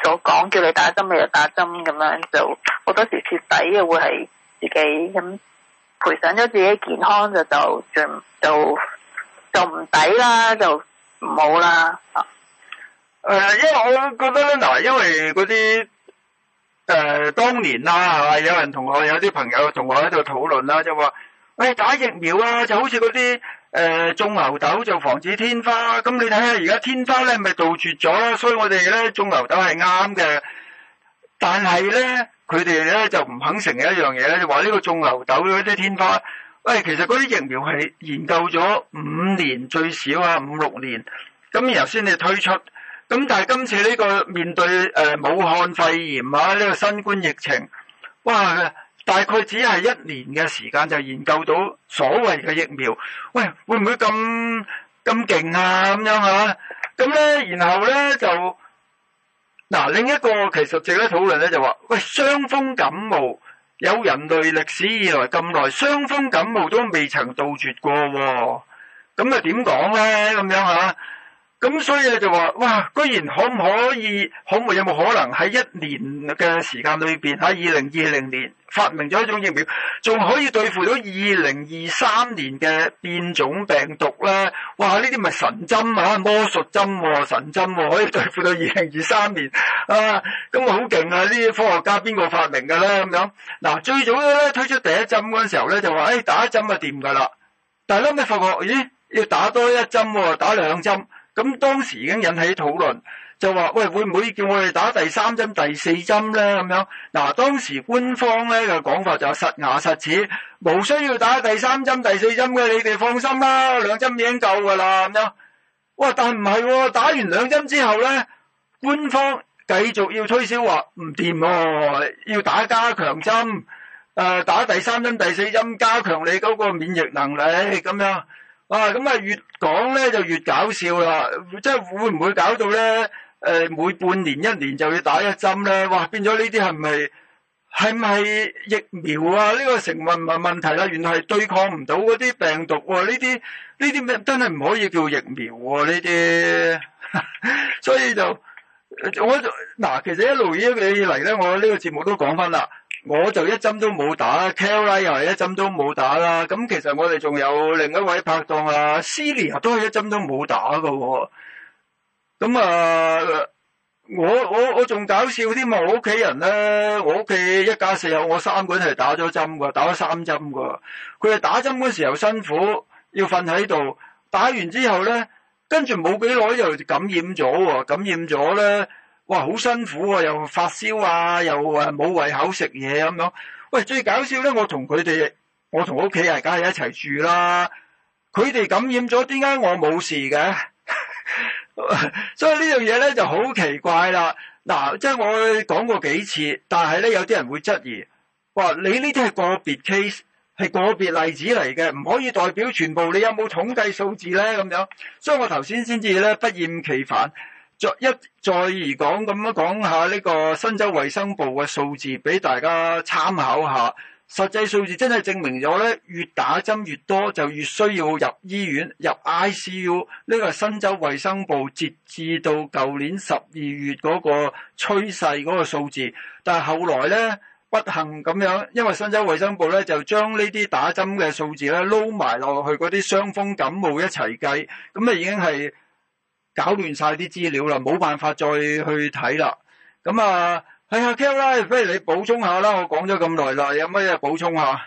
所講，叫你打針你就打針咁樣，就好多時蝕底嘅會係自己咁賠上咗自己健康就就就就就唔抵啦，就唔好啦。誒、 呃，因為我覺得咧，嗱，因為嗰啲誒當年啦，係嘛，有人同我有啲朋友同我喺度討論啦，就話，喂、哎，打疫苗啊，就好似嗰啲。誒、呃、種牛痘就防止天花，咁你睇下而家天花咧咪杜絕咗啦，所以我哋咧種牛痘係啱嘅。但係咧佢哋咧就唔肯承認一樣嘢咧，就話呢個種牛痘嗰啲天花，喂、哎，其實嗰啲疫苗係研究咗五年最少啊，五六年，咁然後先至推出。咁但係今次呢個面對誒、呃、武漢肺炎啊呢、呢個新冠疫情，哇！大概只係一年嘅時間就研究到所謂嘅疫苗，喂，會唔會咁咁勁啊？咁樣嚇，咁咧，然後咧就嗱另一個其實值得討論咧就話，喂，傷風感冒有人類歷史以來咁耐，傷風感冒都未曾杜絕過喎，咁啊點講咧？咁樣嚇。咁所以就話，哇！居然可唔可以，可唔可以有冇可能喺一年嘅時間裏邊，喺二零二零年發明咗一種疫苗，仲可以對付到二零二三年嘅變種病毒咧？哇！呢啲咪神針啊，魔術針喎、啊，神針喎、啊，可以對付到二零二三年啊！咁啊好勁啊！呢啲科學家邊個發明㗎咧？咁樣嗱，最早咧推出第一針嗰陣時候咧，就話誒、哎、打一針就掂㗎啦，但係後尾發覺，咦，要打多一針喎、啊，打兩針。咁當時已經引起討論，就話喂，會唔會叫我哋打第三針、第四針咧？咁樣嗱，當時官方咧嘅講法就實牙實齒，無需要打第三針、第四針嘅，你哋放心啦，兩針已經夠㗎啦。咁樣，哇！但係唔係喎，打完兩針之後咧，官方繼續要推銷話唔掂喎，要打加強針，誒、呃、打第三針、第四針，加強你嗰個免疫能力咁樣。啊，咁啊越講咧就越搞笑啦，即係會唔會搞到咧？誒、呃，每半年一年就要打一針咧？哇，變咗呢啲係咪係咪疫苗啊？呢、這個成問問問題啦，原來係對抗唔到嗰啲病毒喎、啊，呢啲呢啲咩真係唔可以叫疫苗喎、啊？呢啲，所以就我嗱，其實一路以嚟咧，我呢個節目都講翻啦。我就一針都冇打 Kelly 又係一針都冇打啦。咁其實我哋仲有另一位拍檔啊 Celia 都係一針都冇打㗎喎。咁啊，我我我仲搞笑添啊！我屋企人咧，我屋企一家四口，我三個人係打咗針㗎，打咗三針㗎。佢哋打針嗰時候辛苦，要瞓喺度。打完之後咧，跟住冇幾耐又感染咗喎，感染咗咧。哇，好辛苦啊！又發燒啊，又誒冇胃口食嘢咁樣。喂，最搞笑咧，我同佢哋，我同屋企人梗係一齊住啦。佢哋感染咗，點解我冇事嘅？所以呢樣嘢咧就好奇怪啦。嗱，即係我講過幾次，但係咧有啲人會質疑，話你呢啲係個別 case，係個別例子嚟嘅，唔可以代表全部。你有冇統計數字咧？咁樣，所以我頭先先至咧不厭其煩。再一再而講咁樣講下呢個新州衛生部嘅數字俾大家參考下，實際數字真係證明咗咧，越打針越多就越需要入醫院入 I C U。呢個係新州衛生部截至到舊年十二月嗰個趨勢嗰個數字，但係後來咧不幸咁樣，因為新州衛生部咧就將呢啲打針嘅數字咧撈埋落去嗰啲傷風感冒一齊計，咁啊已經係搞亂晒啲資料啦，冇辦法再去睇啦。咁啊，係啊 Kel 啦，不如你補充下啦。我講咗咁耐啦，有乜嘢補充下？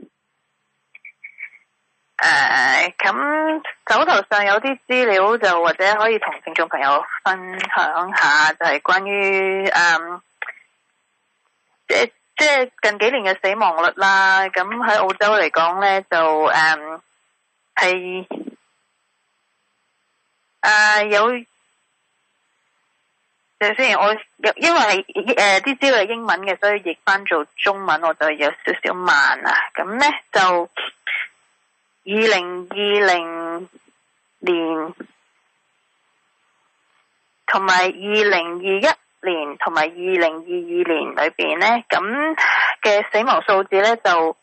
誒，咁手頭上有啲資料就或者可以同聽眾朋友分享下，就係關於誒，即即係近幾年嘅死亡率啦。咁喺澳洲嚟講咧，就誒係。誒、uh, 有，就先我因為係誒啲資料係英文嘅，所以譯翻做中文我就有少少慢啊。咁咧就二零二零年同埋二零二一年同埋二零二二年裏邊咧，咁嘅死亡數字咧就誒，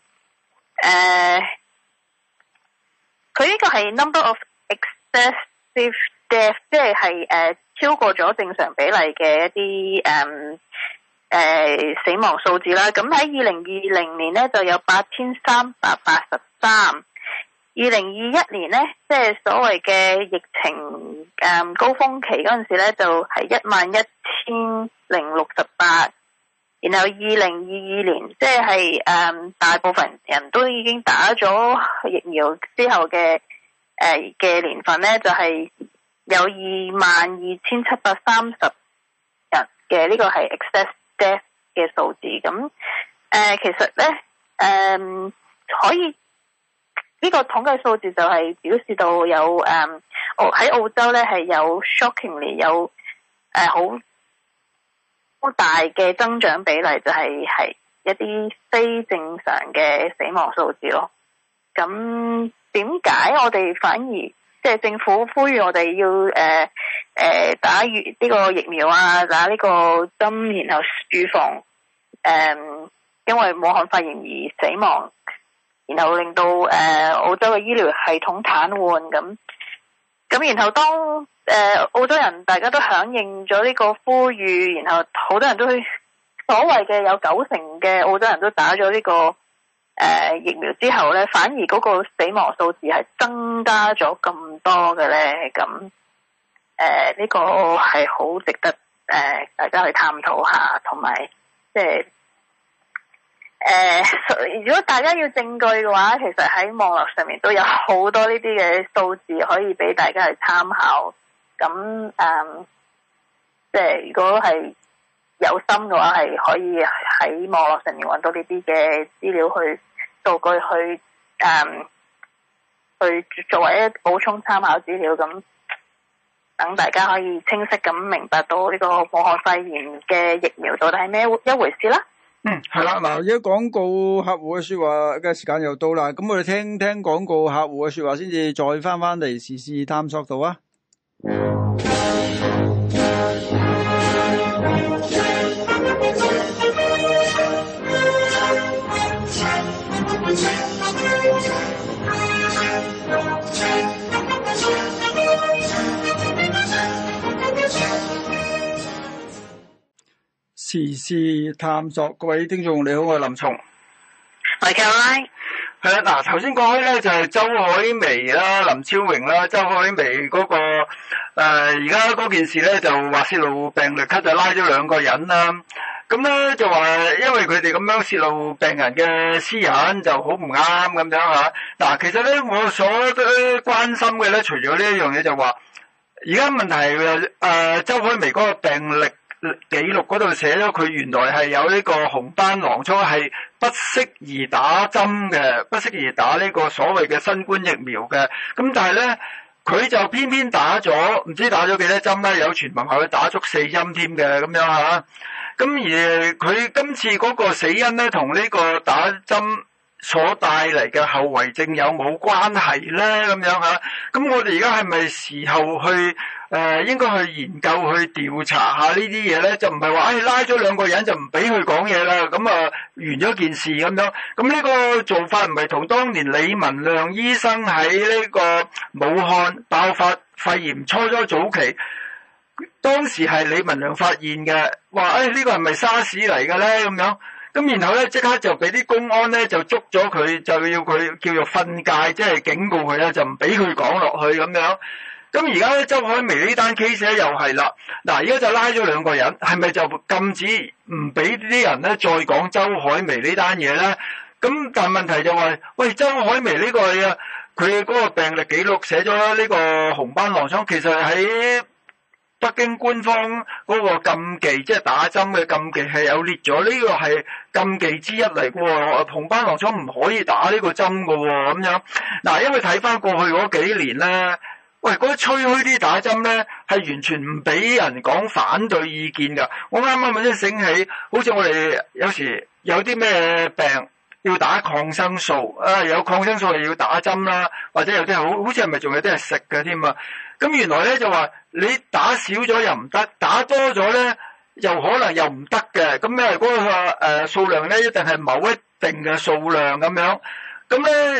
佢、uh, 呢個係 number of excess death 即係係誒超過咗正常比例嘅一啲誒誒死亡數字啦。咁喺二零二零年咧就有八千三百八十三，二零二一年咧即係所謂嘅疫情誒、嗯、高峰期嗰陣時咧就係一萬一千零六十八。然後二零二二年，即係誒大部分人都已經打咗疫苗之後嘅誒嘅年份咧，就係、是、有二萬二千七百三十人嘅呢、這個係 excess death 嘅數字。咁誒、呃、其實咧誒、呃、可以呢、這個統計數字就係表示到有誒澳喺澳洲咧係有 shockingly 有誒好。呃好大嘅增長比例就係係一啲非正常嘅死亡數字咯。咁點解我哋反而即係、就是、政府呼籲我哋要誒誒、呃呃、打預呢個疫苗啊，打呢個針，然後預防誒、呃、因為武漢肺炎而死亡，然後令到誒、呃、澳洲嘅醫療系統癱瘓咁。咁然後當誒、呃、澳洲人大家都響應咗呢個呼籲，然後好多人都去所謂嘅有九成嘅澳洲人都打咗呢、這個誒、呃、疫苗之後咧，反而嗰個死亡數字係增加咗咁多嘅咧。咁誒呢個係好值得誒、呃、大家去探討下，同埋即係誒如果大家要證據嘅話，其實喺網絡上面都有好多呢啲嘅數字可以俾大家去參考。咁誒、嗯，即係如果係有心嘅話，係可以喺網絡上面揾到呢啲嘅資料去數據去誒、嗯，去作為一補充參考資料，咁等大家可以清晰咁明白到呢個武漢肺炎嘅疫苗到底係咩一回事啦。 嗯，係啦，嗱，而家廣告客戶嘅說話嘅時間又到啦，咁我哋聽聽廣告客戶嘅說話先至再翻翻嚟時事探索度啊。時事探索，各位聽眾你好，我係林松， 我係 Caroline。 係啦，嗱，頭先講開咧就係周海媚啦、林超榮啦，周海媚嗰個誒而家嗰件事咧就話泄露病歷卡就拉咗兩個人啦。咁咧就話因為佢哋咁樣泄露病人嘅私隱就好唔啱咁樣吓。嗱，其實咧我所關心嘅咧，除咗呢一樣嘢就話，而家問題係誒周海媚嗰個病歷記錄嗰度寫咗佢原來係有呢個紅斑狼瘡，係不適宜打針嘅，不適宜打呢個所謂嘅新冠疫苗嘅。咁但係咧佢就偏偏打咗，唔知打咗幾多針啦，有傳聞話佢打足四針添嘅咁樣吓。咁而佢今次嗰個死因咧，同呢個打針所帶嚟嘅後遺症有冇關係咧？咁樣吓，咁我哋而家係咪時候去誒、呃，應該去研究去調查下呢啲嘢咧？就唔係話誒拉咗兩個人就唔俾佢講嘢啦，咁啊完咗件事咁樣。咁呢個做法唔係同當年李文亮醫生喺呢個武漢爆發肺炎初初早期，當時係李文亮發現嘅，話誒呢個係咪沙士嚟嘅咧？咁樣。咁然後咧，即刻就俾啲公安咧就捉咗佢，就要佢叫做訓誡，即係警告佢啦，就唔俾佢講落去咁樣。咁而家咧，周海媚呢單 case 咧又係啦，嗱，而家就拉咗兩個人，係咪就禁止唔俾啲人咧再講周海媚呢單嘢咧？咁但係問題就係、是，喂，周海媚呢個啊，佢嗰個病歷記錄寫咗呢個紅斑狼瘡，其實喺北京官方嗰個禁忌，即係打針嘅禁忌係有列咗，呢個係禁忌之一嚟嘅喎。紅斑狼瘡唔可以打呢個針嘅喎，咁樣。嗱，因為睇翻過去嗰幾年咧，喂，嗰啲吹噓啲打針咧係完全唔俾人講反對意見㗎。我啱啱先醒起，好似我哋有時有啲咩病要打抗生素，啊，有抗生素係要打針啦，或者有啲係好好似係咪仲有啲係食嘅添啊？咁原來咧就話你打少咗又唔得，打多咗咧又可能又唔得嘅。咁因為嗰個誒數量咧一定係某一定嘅數量咁樣。咁咧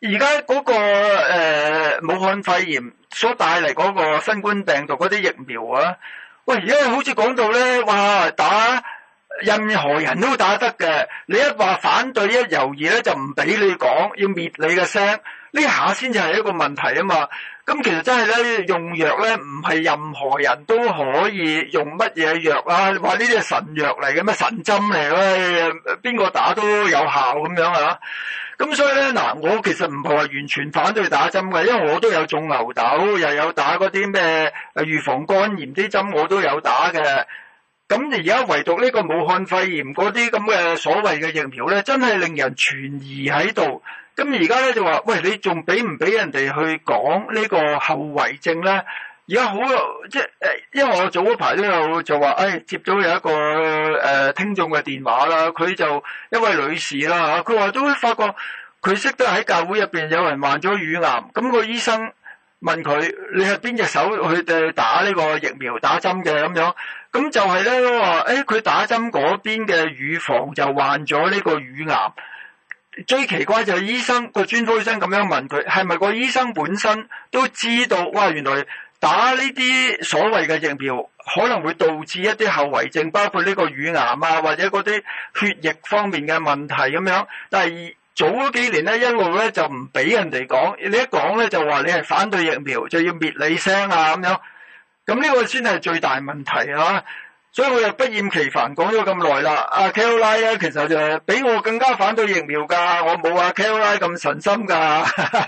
而家嗰個誒、呃、武漢肺炎所帶嚟嗰個新冠病毒嗰啲疫苗啊，喂，而家好似講到咧，哇，打任何人都打得嘅，你一話反對一猶豫咧，就唔俾你講，要滅你嘅聲，呢下先至係一個問題啊嘛。咁其實真係咧，用藥咧唔係任何人都可以用乜嘢藥啊，話呢啲係神藥嚟嘅咩，神針嚟嘅，邊個打都有效咁樣啊。咁所以咧，嗱，我其實唔係話完全反對打針嘅，因為我都有種牛痘，又有打嗰啲咩誒預防肝炎啲針，我都有打嘅。咁而家唯獨呢個武漢肺炎嗰啲咁嘅所謂嘅疫苗咧，真係令人存疑喺度。咁而家咧就話，喂，你仲俾唔俾人哋去講呢個後遺症咧？而家好即係誒，因為我早嗰排都有就話，誒、哎、接到有一個誒、呃、聽眾嘅電話啦，佢就一位女士啦嚇，佢話都發覺佢識得喺教會入邊有人患咗乳癌，咁個醫生問佢你係邊隻手去誒打呢個疫苗打針嘅咁樣，咁就係咧話，誒佢打針嗰邊嘅乳房就患咗呢個乳癌。最奇怪就係醫生個專科醫生咁樣問佢，係咪個醫生本身都知道，哇，原來打呢啲所謂嘅疫苗可能會導致一啲後遺症，包括呢個乳癌啊，或者嗰啲血液方面嘅問題咁樣。但係早嗰幾年咧，一路咧就唔俾人哋講，你一講咧就話你係反對疫苗，就要滅你聲啊咁樣。咁呢個先係最大問題啊！所以我又不厭其煩講咗咁耐啦。阿 Caroline 咧，其實就比我更加反對疫苗㗎，我冇阿 Caroline 咁神心㗎。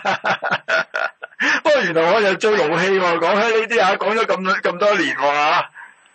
不過原來我又最勞氣喎，講起呢啲啊，講咗咁咁多年喎。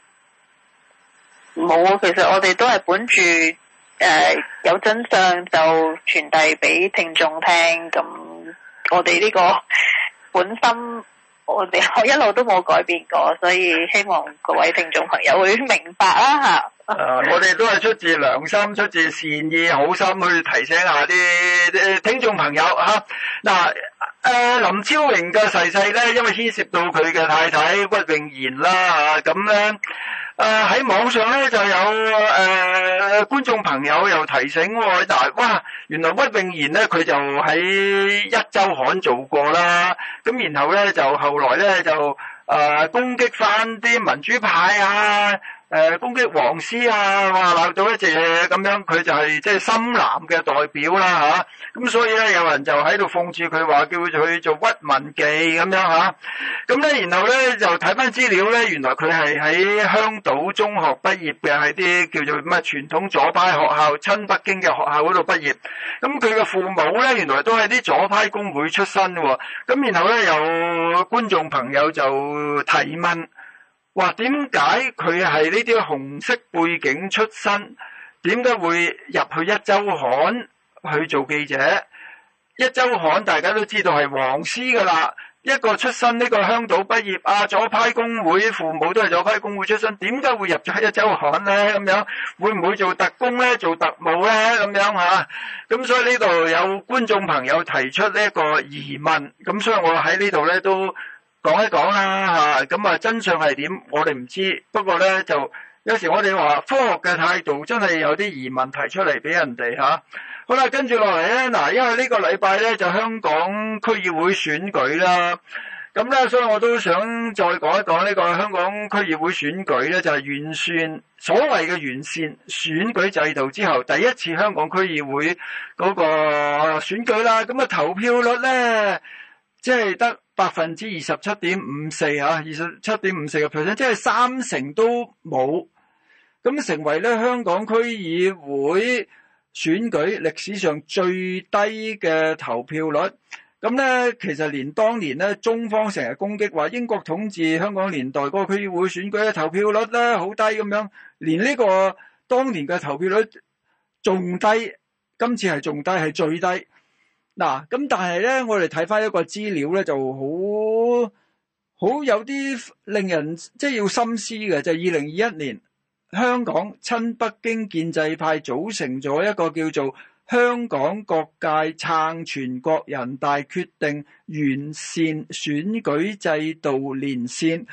冇啊，其實我哋都係本住誒、呃、有真相就傳遞俾聽眾聽，咁我哋呢個本心。我哋我一路都冇改變過，所以希望各位聽眾朋友會明白啦嚇。 誒，我哋都係出自良心、出自善意、好心去提醒下啲啲聽眾朋友嚇。嗱，誒林超榮嘅逝世咧，因為牽涉到佢嘅太太屈穎妍啦嚇，咁咧。誒喺、呃、網上咧就有誒、呃、觀眾朋友又提醒喎，嗱，哇，原來屈穎妍咧佢就喺一週刊做過啦，咁然後咧就後來咧就誒、呃、攻擊翻啲民主派啊，誒、呃、攻擊黃絲啊，哇鬧到一隻咁樣，佢就係即係深藍嘅代表啦嚇，咁、啊、所以咧有人就喺度諷刺佢話叫佢做屈文記咁樣嚇，咁、啊、咧然後咧就睇翻資料咧，原來佢係喺香島中學畢業嘅，係啲叫做咩傳統左派學校親北京嘅學校嗰度畢業，咁佢嘅父母咧原來都係啲左派工會出身喎，咁然後咧有觀眾朋友就提問。話點解佢係呢啲紅色背景出身？點解會入去一周刊去做記者？一周刊大家都知道係黃絲噶啦，一個出身呢個香島畢業啊，左派工會父母都係左派工會出身，點解會入咗一周刊咧？咁樣會唔會做特工咧？做特務咧？咁樣吓？咁所以呢度有觀眾朋友提出呢一個疑問，咁所以我喺呢度咧都。講一講啦嚇，咁啊真相係點？我哋唔知，不過咧就有時我哋話科學嘅態度真係有啲疑問提出嚟俾人哋嚇。好啦，跟住落嚟咧，嗱，因為呢個禮拜咧就香港區議會選舉啦，咁咧所以我都想再講一講呢個香港區議會選舉咧，就係完善所謂嘅完善選舉制度之後，第一次香港區議會嗰個選舉啦，咁啊投票率咧即係得百分之二十七點五四啊，二十七點五四個 percent， 即係三成都冇，咁成為咧香港區議會選舉歷史上最低嘅投票率。咁咧，其實連當年咧中方成日攻擊話英國統治香港年代嗰個區議會選舉嘅投票率咧好低咁樣，連呢個當年嘅投票率仲低，今次係仲低，係最低。嗱，咁但係咧，我哋睇翻一個資料咧，就好好有啲令人即係要深思嘅，就係二零二一年香港親北京建制派組成咗一個叫做香港各界撐全國人大決定完善選舉制度連線，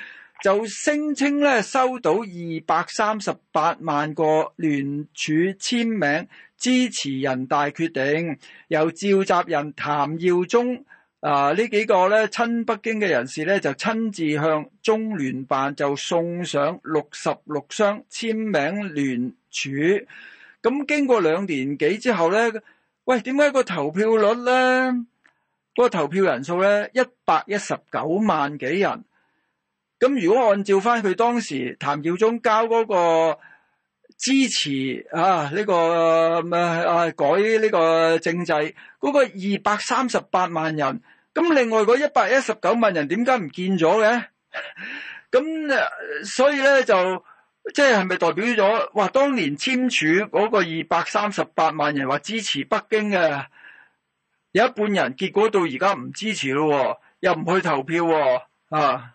就聲稱咧收到二百三十八萬個聯署簽名支持人大決定，由召集人譚耀宗啊呢幾個咧親北京嘅人士咧就親自向中聯辦就送上六十六箱簽名聯署。咁經過兩年幾之後咧，喂，點解個投票率咧，嗰個投票人數咧一百一十九萬幾人？咁如果按照翻佢當時譚耀宗交嗰個支持啊呢、這個咩啊改呢個政制嗰、那個二百三十八萬人，咁另外嗰一百一十九萬人點解唔見咗嘅？咁所以咧就即係係咪代表咗話當年簽署嗰個二百三十八萬人話支持北京嘅有一半人，結果到而家唔支持咯，又唔去投票啊？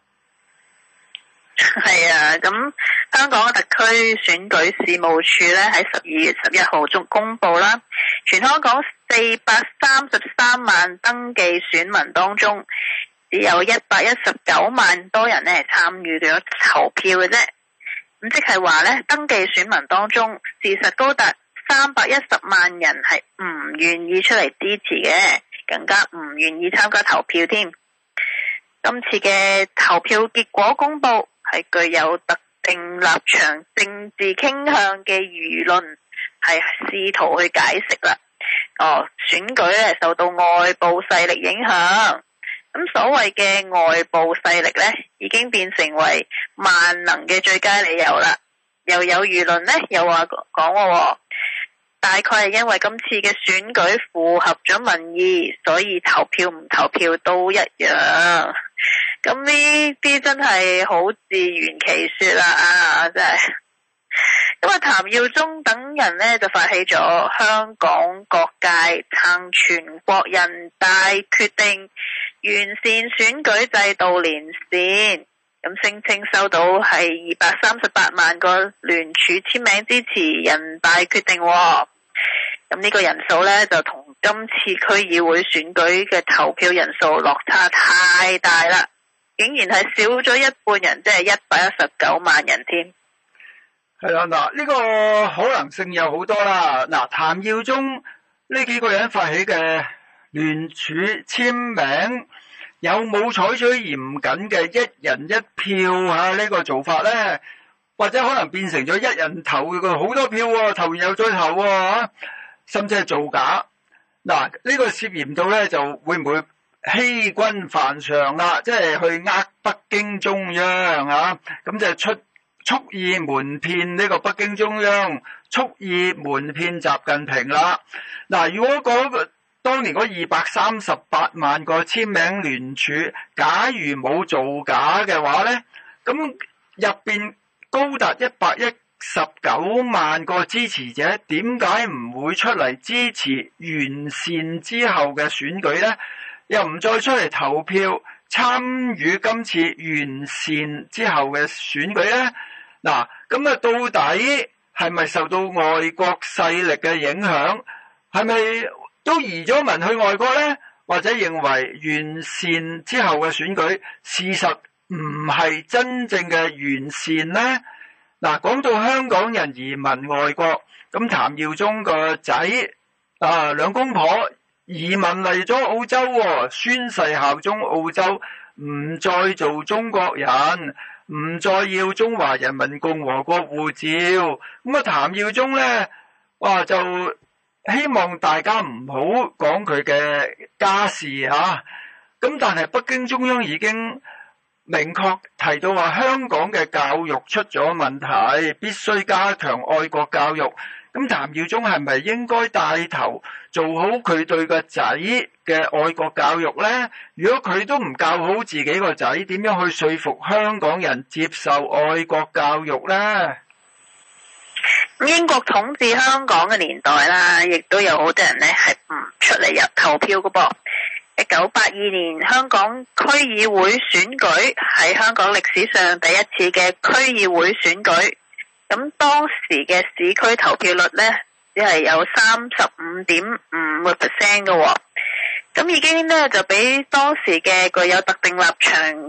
係啊，咁香港嘅特區選舉事務處咧喺十二月十一號中公布啦，全香港四百三十三萬登記選民當中，只有一百一十九萬多人咧參與咗投票嘅啫。咁即係話咧，登記選民當中，事實高達三百一十萬人係唔願意出嚟支持嘅，更加唔願意參加投票添。今次嘅投票結果公布，係具有特定立場、政治傾向嘅輿論，係試圖去解釋啦。哦，選舉咧受到外部勢力影響，咁所謂嘅外部勢力咧，已經變成為萬能嘅最佳理由啦。又有輿論咧，又話講喎，大概係因為今次嘅選舉符合咗民意，所以投票唔投票都一樣。咁呢啲真係好自圓其說啦啊！真係，因為譚耀宗等人呢就發起咗香港各界撐全國人大決定，完善選舉制度連線，咁聲稱收到係二百三十八萬個聯署簽名支持人大決定喎。咁呢個人數呢，就同今次區議會選舉嘅投票人數落差太大啦。竟然係少咗一半人，即係一百一十九萬人添。 係啦，嗱，呢個可能性有好多啦。嗱，譚耀宗呢幾個人發起嘅聯署簽名，有冇採取嚴謹嘅一人一票啊？呢個做法咧，或者可能變成咗一人投個好多票喎，投完又再投喎，甚至係造假。嗱，呢個涉嫌到咧，就會唔會欺君犯上啦，即係去呃北京中央啊，咁就出蓄意瞞騙呢個北京中央，蓄意瞞騙習近平啦。嗱，如果嗰個當年嗰二百三十八萬個簽名聯署，假如冇造假嘅話咧，咁入邊高達一百一十九萬個支持者，點解唔會出嚟支持完善之後嘅選舉咧？又唔再出嚟投票參與今次完善之後嘅選舉咧？嗱，咁啊到底係咪受到外國勢力嘅影響？係咪都移咗民去外國咧？或者認為完善之後嘅選舉事實唔係真正嘅完善咧？嗱，講到香港人移民外國，咁譚耀宗個仔啊兩公婆移民嚟咗澳洲喎，宣誓效忠澳洲，唔再做中國人，唔再要中華人民共和國護照。咁啊，譚耀宗咧，哇就希望大家唔好講佢嘅家事嚇。咁但係北京中央已經明確提到話，香港嘅教育出咗問題，必須加強愛國教育。咁譚耀宗係咪應該帶頭做好佢對個仔嘅愛國教育呢？如果佢都唔教好自己個仔，點樣去說服香港人接受愛國教育呢？ 英國統治香港嘅年代啦，亦都有好多人呢係唔出嚟入投票嘅噃。一九八二年香港區議會選舉係香港歷史上第一次嘅區議會選舉。咁當時嘅市區投票率呢，只係有三十五點五個 percent 嘅喎，咁已經呢，就比當時嘅具有特定立場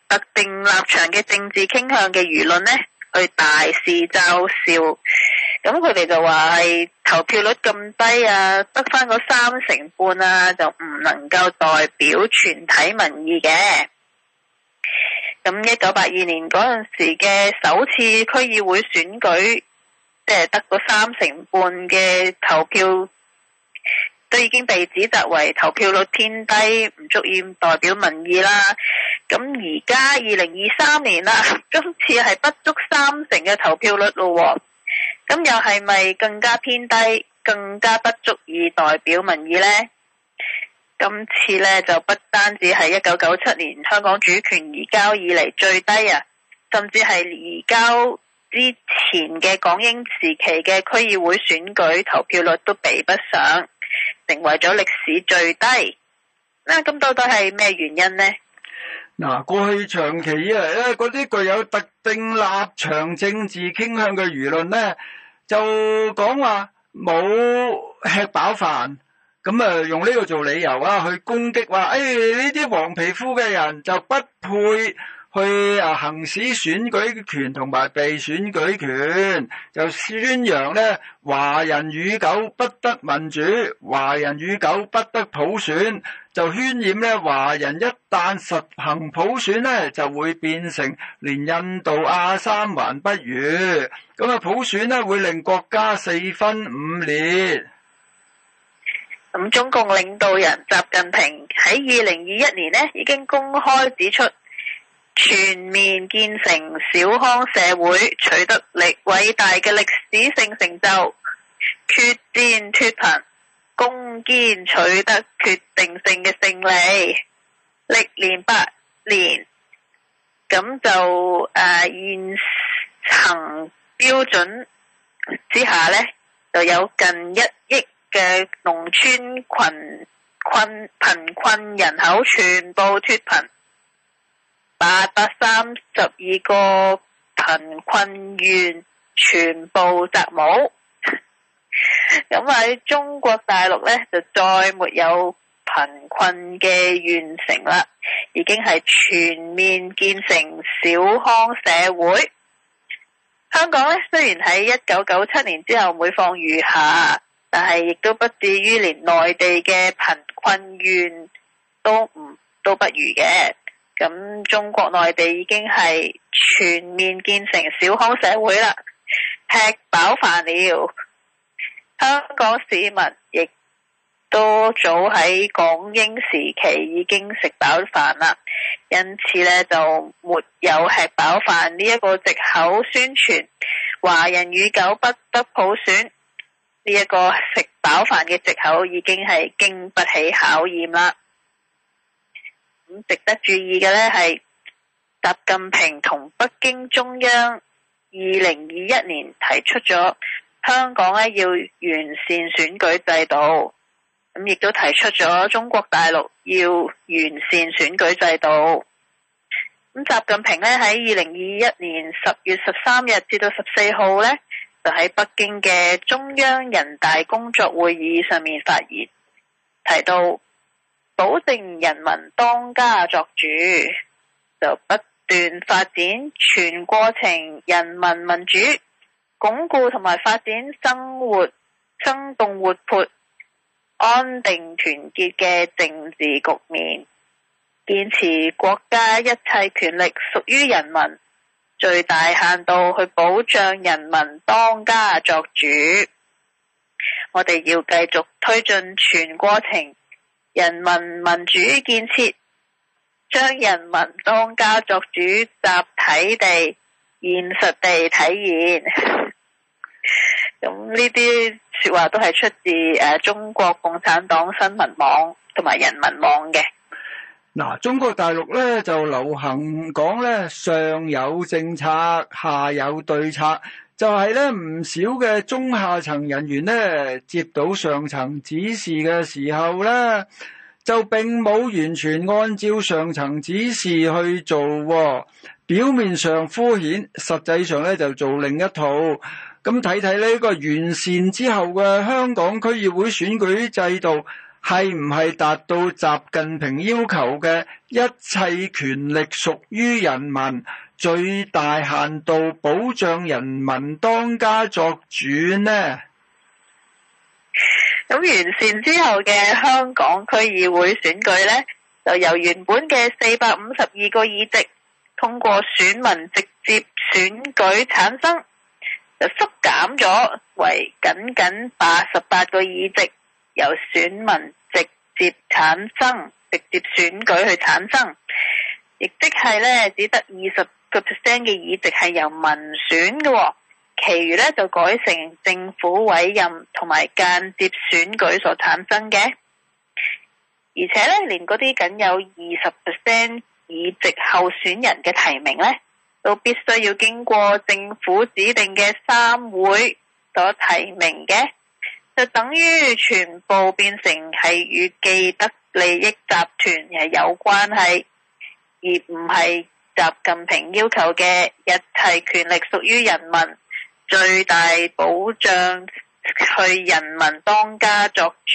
特定立場嘅政治傾向嘅輿論呢，去大肆嘲笑。咁佢哋就話係投票率咁低啊，得翻嗰三成半啊，就唔能夠代表全體民意嘅。咁一九八二年嗰陣時嘅首次區議會選舉，即係得嗰三成半嘅投票，都已經被指責為投票率偏低，唔足以代表民意啦。咁而家二零二三年啦，今次係不足三成嘅投票率咯。咁又係咪更加偏低，更加不足以代表民意呢？今次呢，就不單止係一九九七年香港主權移交以嚟最低啊，甚至係移交之前嘅港英時期嘅區議會選舉投票率都比不上，成為咗歷史最低。嗱，咁到底係咩原因呢？ 嗱，過去長期以嚟咧，嗰啲具有特定立場政治傾向嘅輿論咧，就講話冇吃飽飯，咁啊用呢個做理由啊，去攻擊話，誒呢啲黃皮膚嘅人就不配去啊行使選舉權同埋被選舉權，就宣揚咧華人與狗不得民主，華人與狗不得普選，就渲染咧華人一旦實行普選咧，就會變成連印度阿三還不如，咁啊普選咧會令國家四分五裂。 咁中共領導人習近平喺二零二一年呢已經公開指出，全面建成小康社會取得力偉大嘅歷史性成就，決戰脫貧，攻堅取得決定性嘅勝利，歷練八年，咁就誒、呃、現行標準之下呢，就有近一億嘅農村群困貧困人口全部脫貧，八百三十二個貧困縣全部摘帽。咁喺中國大陸呢，就再沒有貧困嘅縣城啦，已經係全面建成小康社會。香港呢，雖然喺一九九七年之後每況愈下，但係亦都不至於連內地嘅貧困縣都唔都不如嘅。咁中國內地已經係全面建成小康社會啦，吃飽飯了。香港市民亦都早喺港英時期已經食飽飯啦，因此呢，就沒有吃飽飯呢一個藉口宣傳華人與狗不得普選，呢一個食飽飯嘅藉口已經係經不起考驗啦。咁值得注意嘅呢係習近平同北京中央二零二一年提出咗香港咧要完善選舉制度，咁亦都提出咗中國大陸要完善選舉制度。咁習近平咧喺二零二一年十月十三日至到十四號咧，就喺北京嘅中央人大工作會議上面發言，提到保證人民當家作主，就不斷發展全過程人民民主，鞏固同埋發展生活生動活潑、安定團結嘅政治局面，堅持國家一切權力屬於人民，最大限度去保障人民當家作主。我哋要繼續推進全過程人民民主建設，將人民當家作主集體地、現實地體現。咁呢啲說話都係出自誒中國共產黨新聞網同埋人民網嘅。 嗱，中國大陸咧就流行講咧上有政策，下有對策，就係咧唔少嘅中下層人員咧接到上層指示嘅時候咧，就並冇完全按照上層指示去做喎，表面上敷衍，實際上咧就做另一套。咁睇睇呢個完善之後嘅香港區議會選舉制度， 係唔係達到習近平要求嘅一切權力屬於人民，最大限度保障人民當家作主呢？ 咁完善之後嘅香港區議會選舉呢，就由原本嘅四百五十二個議席通過選民直接選舉產生，就縮減咗為僅僅八十八個議席，由選民直接產生、直接選舉去產生，亦即係呢，只得二十個 percent 嘅議席係由民選嘅喎。其餘咧就改成政府委任同埋間接選舉所產生嘅，而且咧連嗰啲僅有二十 percent 議席候選人嘅提名咧，都必須要經過政府指定嘅三會所提名嘅，就等於全部變成係與既得利益集團係有關係，而唔係習近平要求嘅一切權力屬於人民，最大保障去人民當家作主。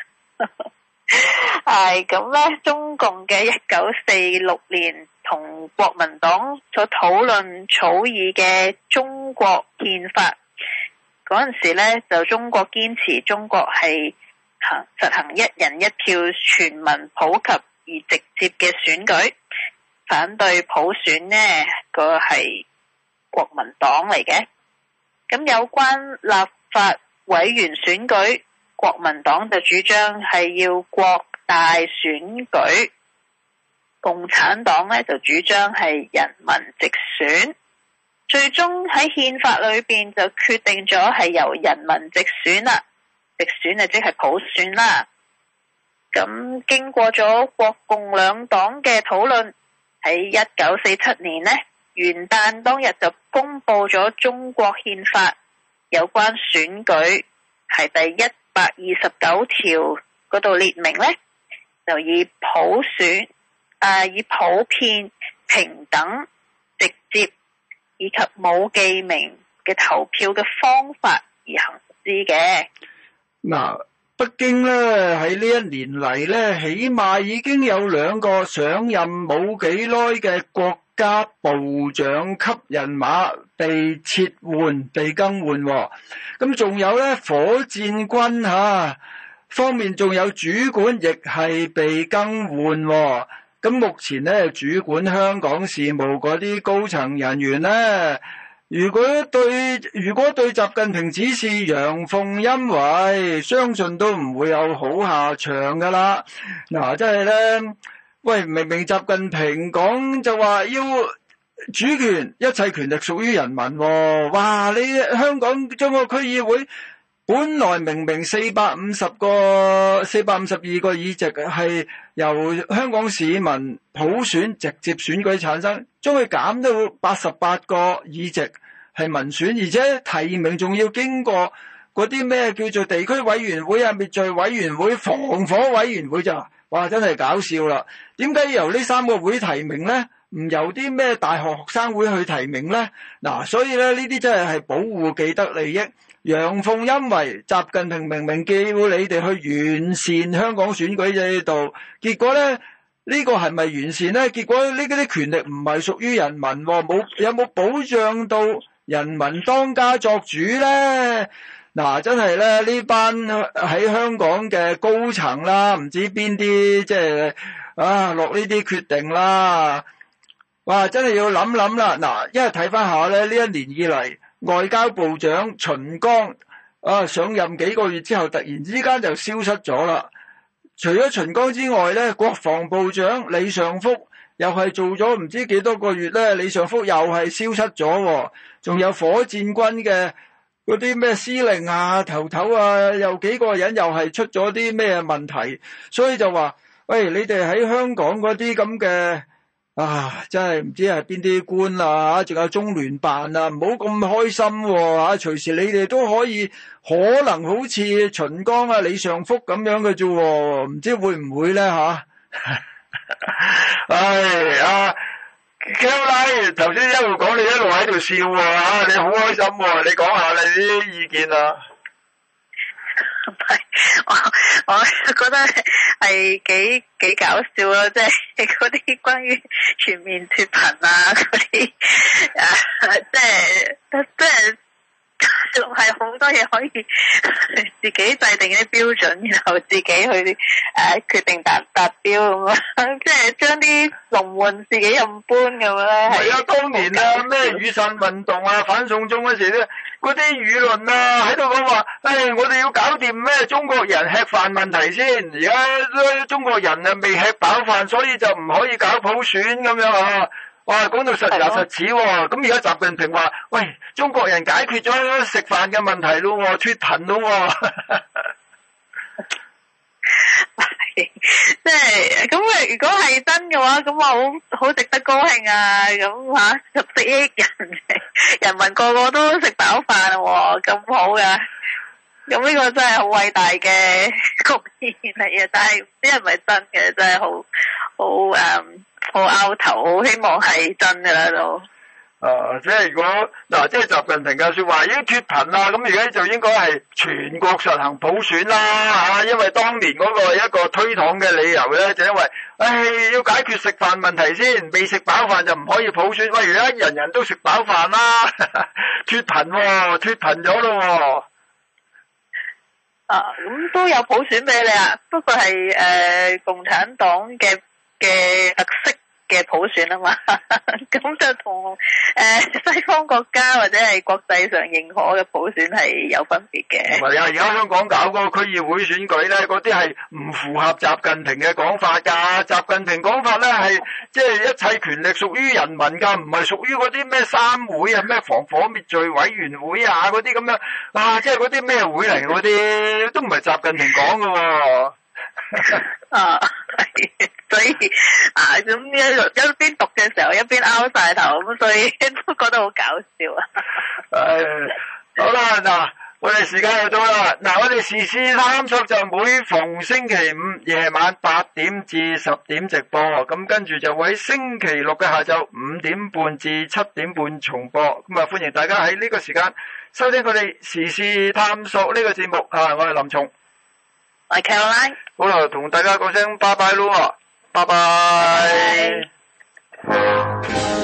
係咁咧，中共嘅一九四六年同國民黨所討論草擬嘅中國憲法嗰陣時咧，就中國堅持中國係行實行一人一票全民普及而直接嘅選舉，反對普選呢個係國民黨嚟嘅。咁有關立法委員選舉，國民黨就主張係要國大選舉，共產黨咧就主張係人民直選。最終喺憲法裏邊就決定咗係由人民直選啦，直選啊即係普選啦。咁經過咗國共兩黨嘅討論，喺一九四七年呢，元旦當日就公布咗中國憲法有關選舉，係第一百二十九條嗰度列明呢，就以普選啊，以普遍、平等、直接以及冇記名嘅投票嘅方法而行之嘅。 嗱，北京咧喺呢一年嚟咧，起碼已經有兩個上任冇幾耐嘅國家部長級人馬被撤換、被更換喎。咁仲有咧，火箭軍嚇方面仲有主管亦係被更換喎。咁目前咧，主管香港事務嗰啲高層人員咧，如果對如果對習近平指示陽奉陰違，相信都唔會有好下場噶啦。嗱，即係咧，喂，明明習近平講就話要主權，一切權力屬於人民喎。哇，你香港中國區議會本來明明四百五十個、四百五十二個議席係由香港市民普選直接選舉產生，將佢減到八十八個議席係民選，而且提名仲要經過嗰啲咩叫做地區委員會啊、滅罪委員會、防火委員會咋？哇，真係搞笑啦！點解要由呢三個會提名呢？唔由啲咩大學學生會去提名呢？嗱，所以咧呢啲真係係保護既得利益。陽奉陰違，習近平明明叫你哋去完善香港選舉制度，結果咧呢、呢個係咪完善呢？結果呢啲權力唔係屬於人民，冇有冇保障到人民當家作主呢？嗱，真係咧呢班喺香港嘅高層啦，唔知邊啲即係啊落呢啲決定啦，哇！真係要諗諗啦。嗱，因為睇翻下咧呢一年以嚟，外交部長秦剛啊上任幾個月之後，突然之間就消失咗啦。除咗秦剛之外咧，國防部長李尚福又係做咗唔知幾多個月咧，李尚福又係消失咗。仲有火箭軍嘅嗰啲咩司令啊、頭頭啊，有幾個人又係出咗啲咩問題，所以就話喂，你哋喺香港嗰啲咁嘅。啊！真係唔知係邊啲官啊，仲有中聯辦啊，唔好咁開心喎、啊！隨時你哋都可以可能好似秦剛啊、李尚福咁樣嘅啫喎，唔知會唔會咧吓？唉啊 Kelly 頭先一路講，你一路喺度笑喎、啊、你好開心喎、啊！你講下你啲意見啊？ 係我我覺得係幾幾搞笑咯，即係嗰啲關於全面脫貧啊嗰啲誒，即係即係。仲係好多嘢可以自己制定啲標準，然後自己去誒、呃、決定達達標咁樣，即係將啲龍換自己任搬咁樣咧。 係啊，當年啊咩雨傘運動啊反送中嗰時咧，嗰啲輿論啊喺度講話，誒、哎、我哋要搞掂咩中國人吃飯問題先，而家中國人啊未吃飽飯，所以就唔可以搞普選咁樣啊。哇，講到實牙實齒喎，咁而家習近平話，喂，中國人解決咗食飯嘅問題咯，脫貧咯， 即係咁啊！如果係真嘅話，咁我好好值得高興啊！咁吓十四億人人民個個都食飽飯喎，咁好噶，咁呢個真係好偉大嘅貢獻嚟嘅，但係唔知係咪真嘅，真係好好誒。Um, 好拗頭，好希望係真嘅啦都。 啊，即係如果嗱，即係習近平嘅說話已經脫貧啦，咁而家就應該係全國實行普選啦吓，因為當年嗰個一個推搪嘅理由咧，就因為，唉，要解決食飯問題先，未食飽飯就唔可以普選。喂，而家人人都食飽飯啦，脫貧喎，脫貧咗咯喎。 啊，咁都有普選俾你啊，不過係誒、呃、共產黨嘅。嘅特色嘅普選啊嘛，咁就同誒、呃、西方國家或者係國際上認可嘅普選係有分別嘅。 唔係啊，而家香港搞嗰個區議會選舉咧，嗰啲係唔符合習近平嘅講法㗎。習近平講法咧係即係一切權力屬於人民㗎，唔係屬於嗰啲咩三會啊、咩防火滅罪委員會啊嗰啲咁樣啊，即係嗰啲咩會嚟嗰啲都唔係習近平講㗎喎。 啊，所以啊，咁一一邊讀嘅時候一邊拗晒頭，咁所以都覺得好搞笑啊！ 誒，好啦，嗱，我哋時間又到啦，嗱，我哋時事探索就每逢星期五夜晚八點至十點直播，咁跟住就會喺星期六嘅下晝五點半至七點半重播，咁啊歡迎大家喺呢個時間收聽我哋時事探索呢個節目啊，我係林松。 我係 Caroline， 好啦，同大家講聲拜拜咯，拜拜。拜拜。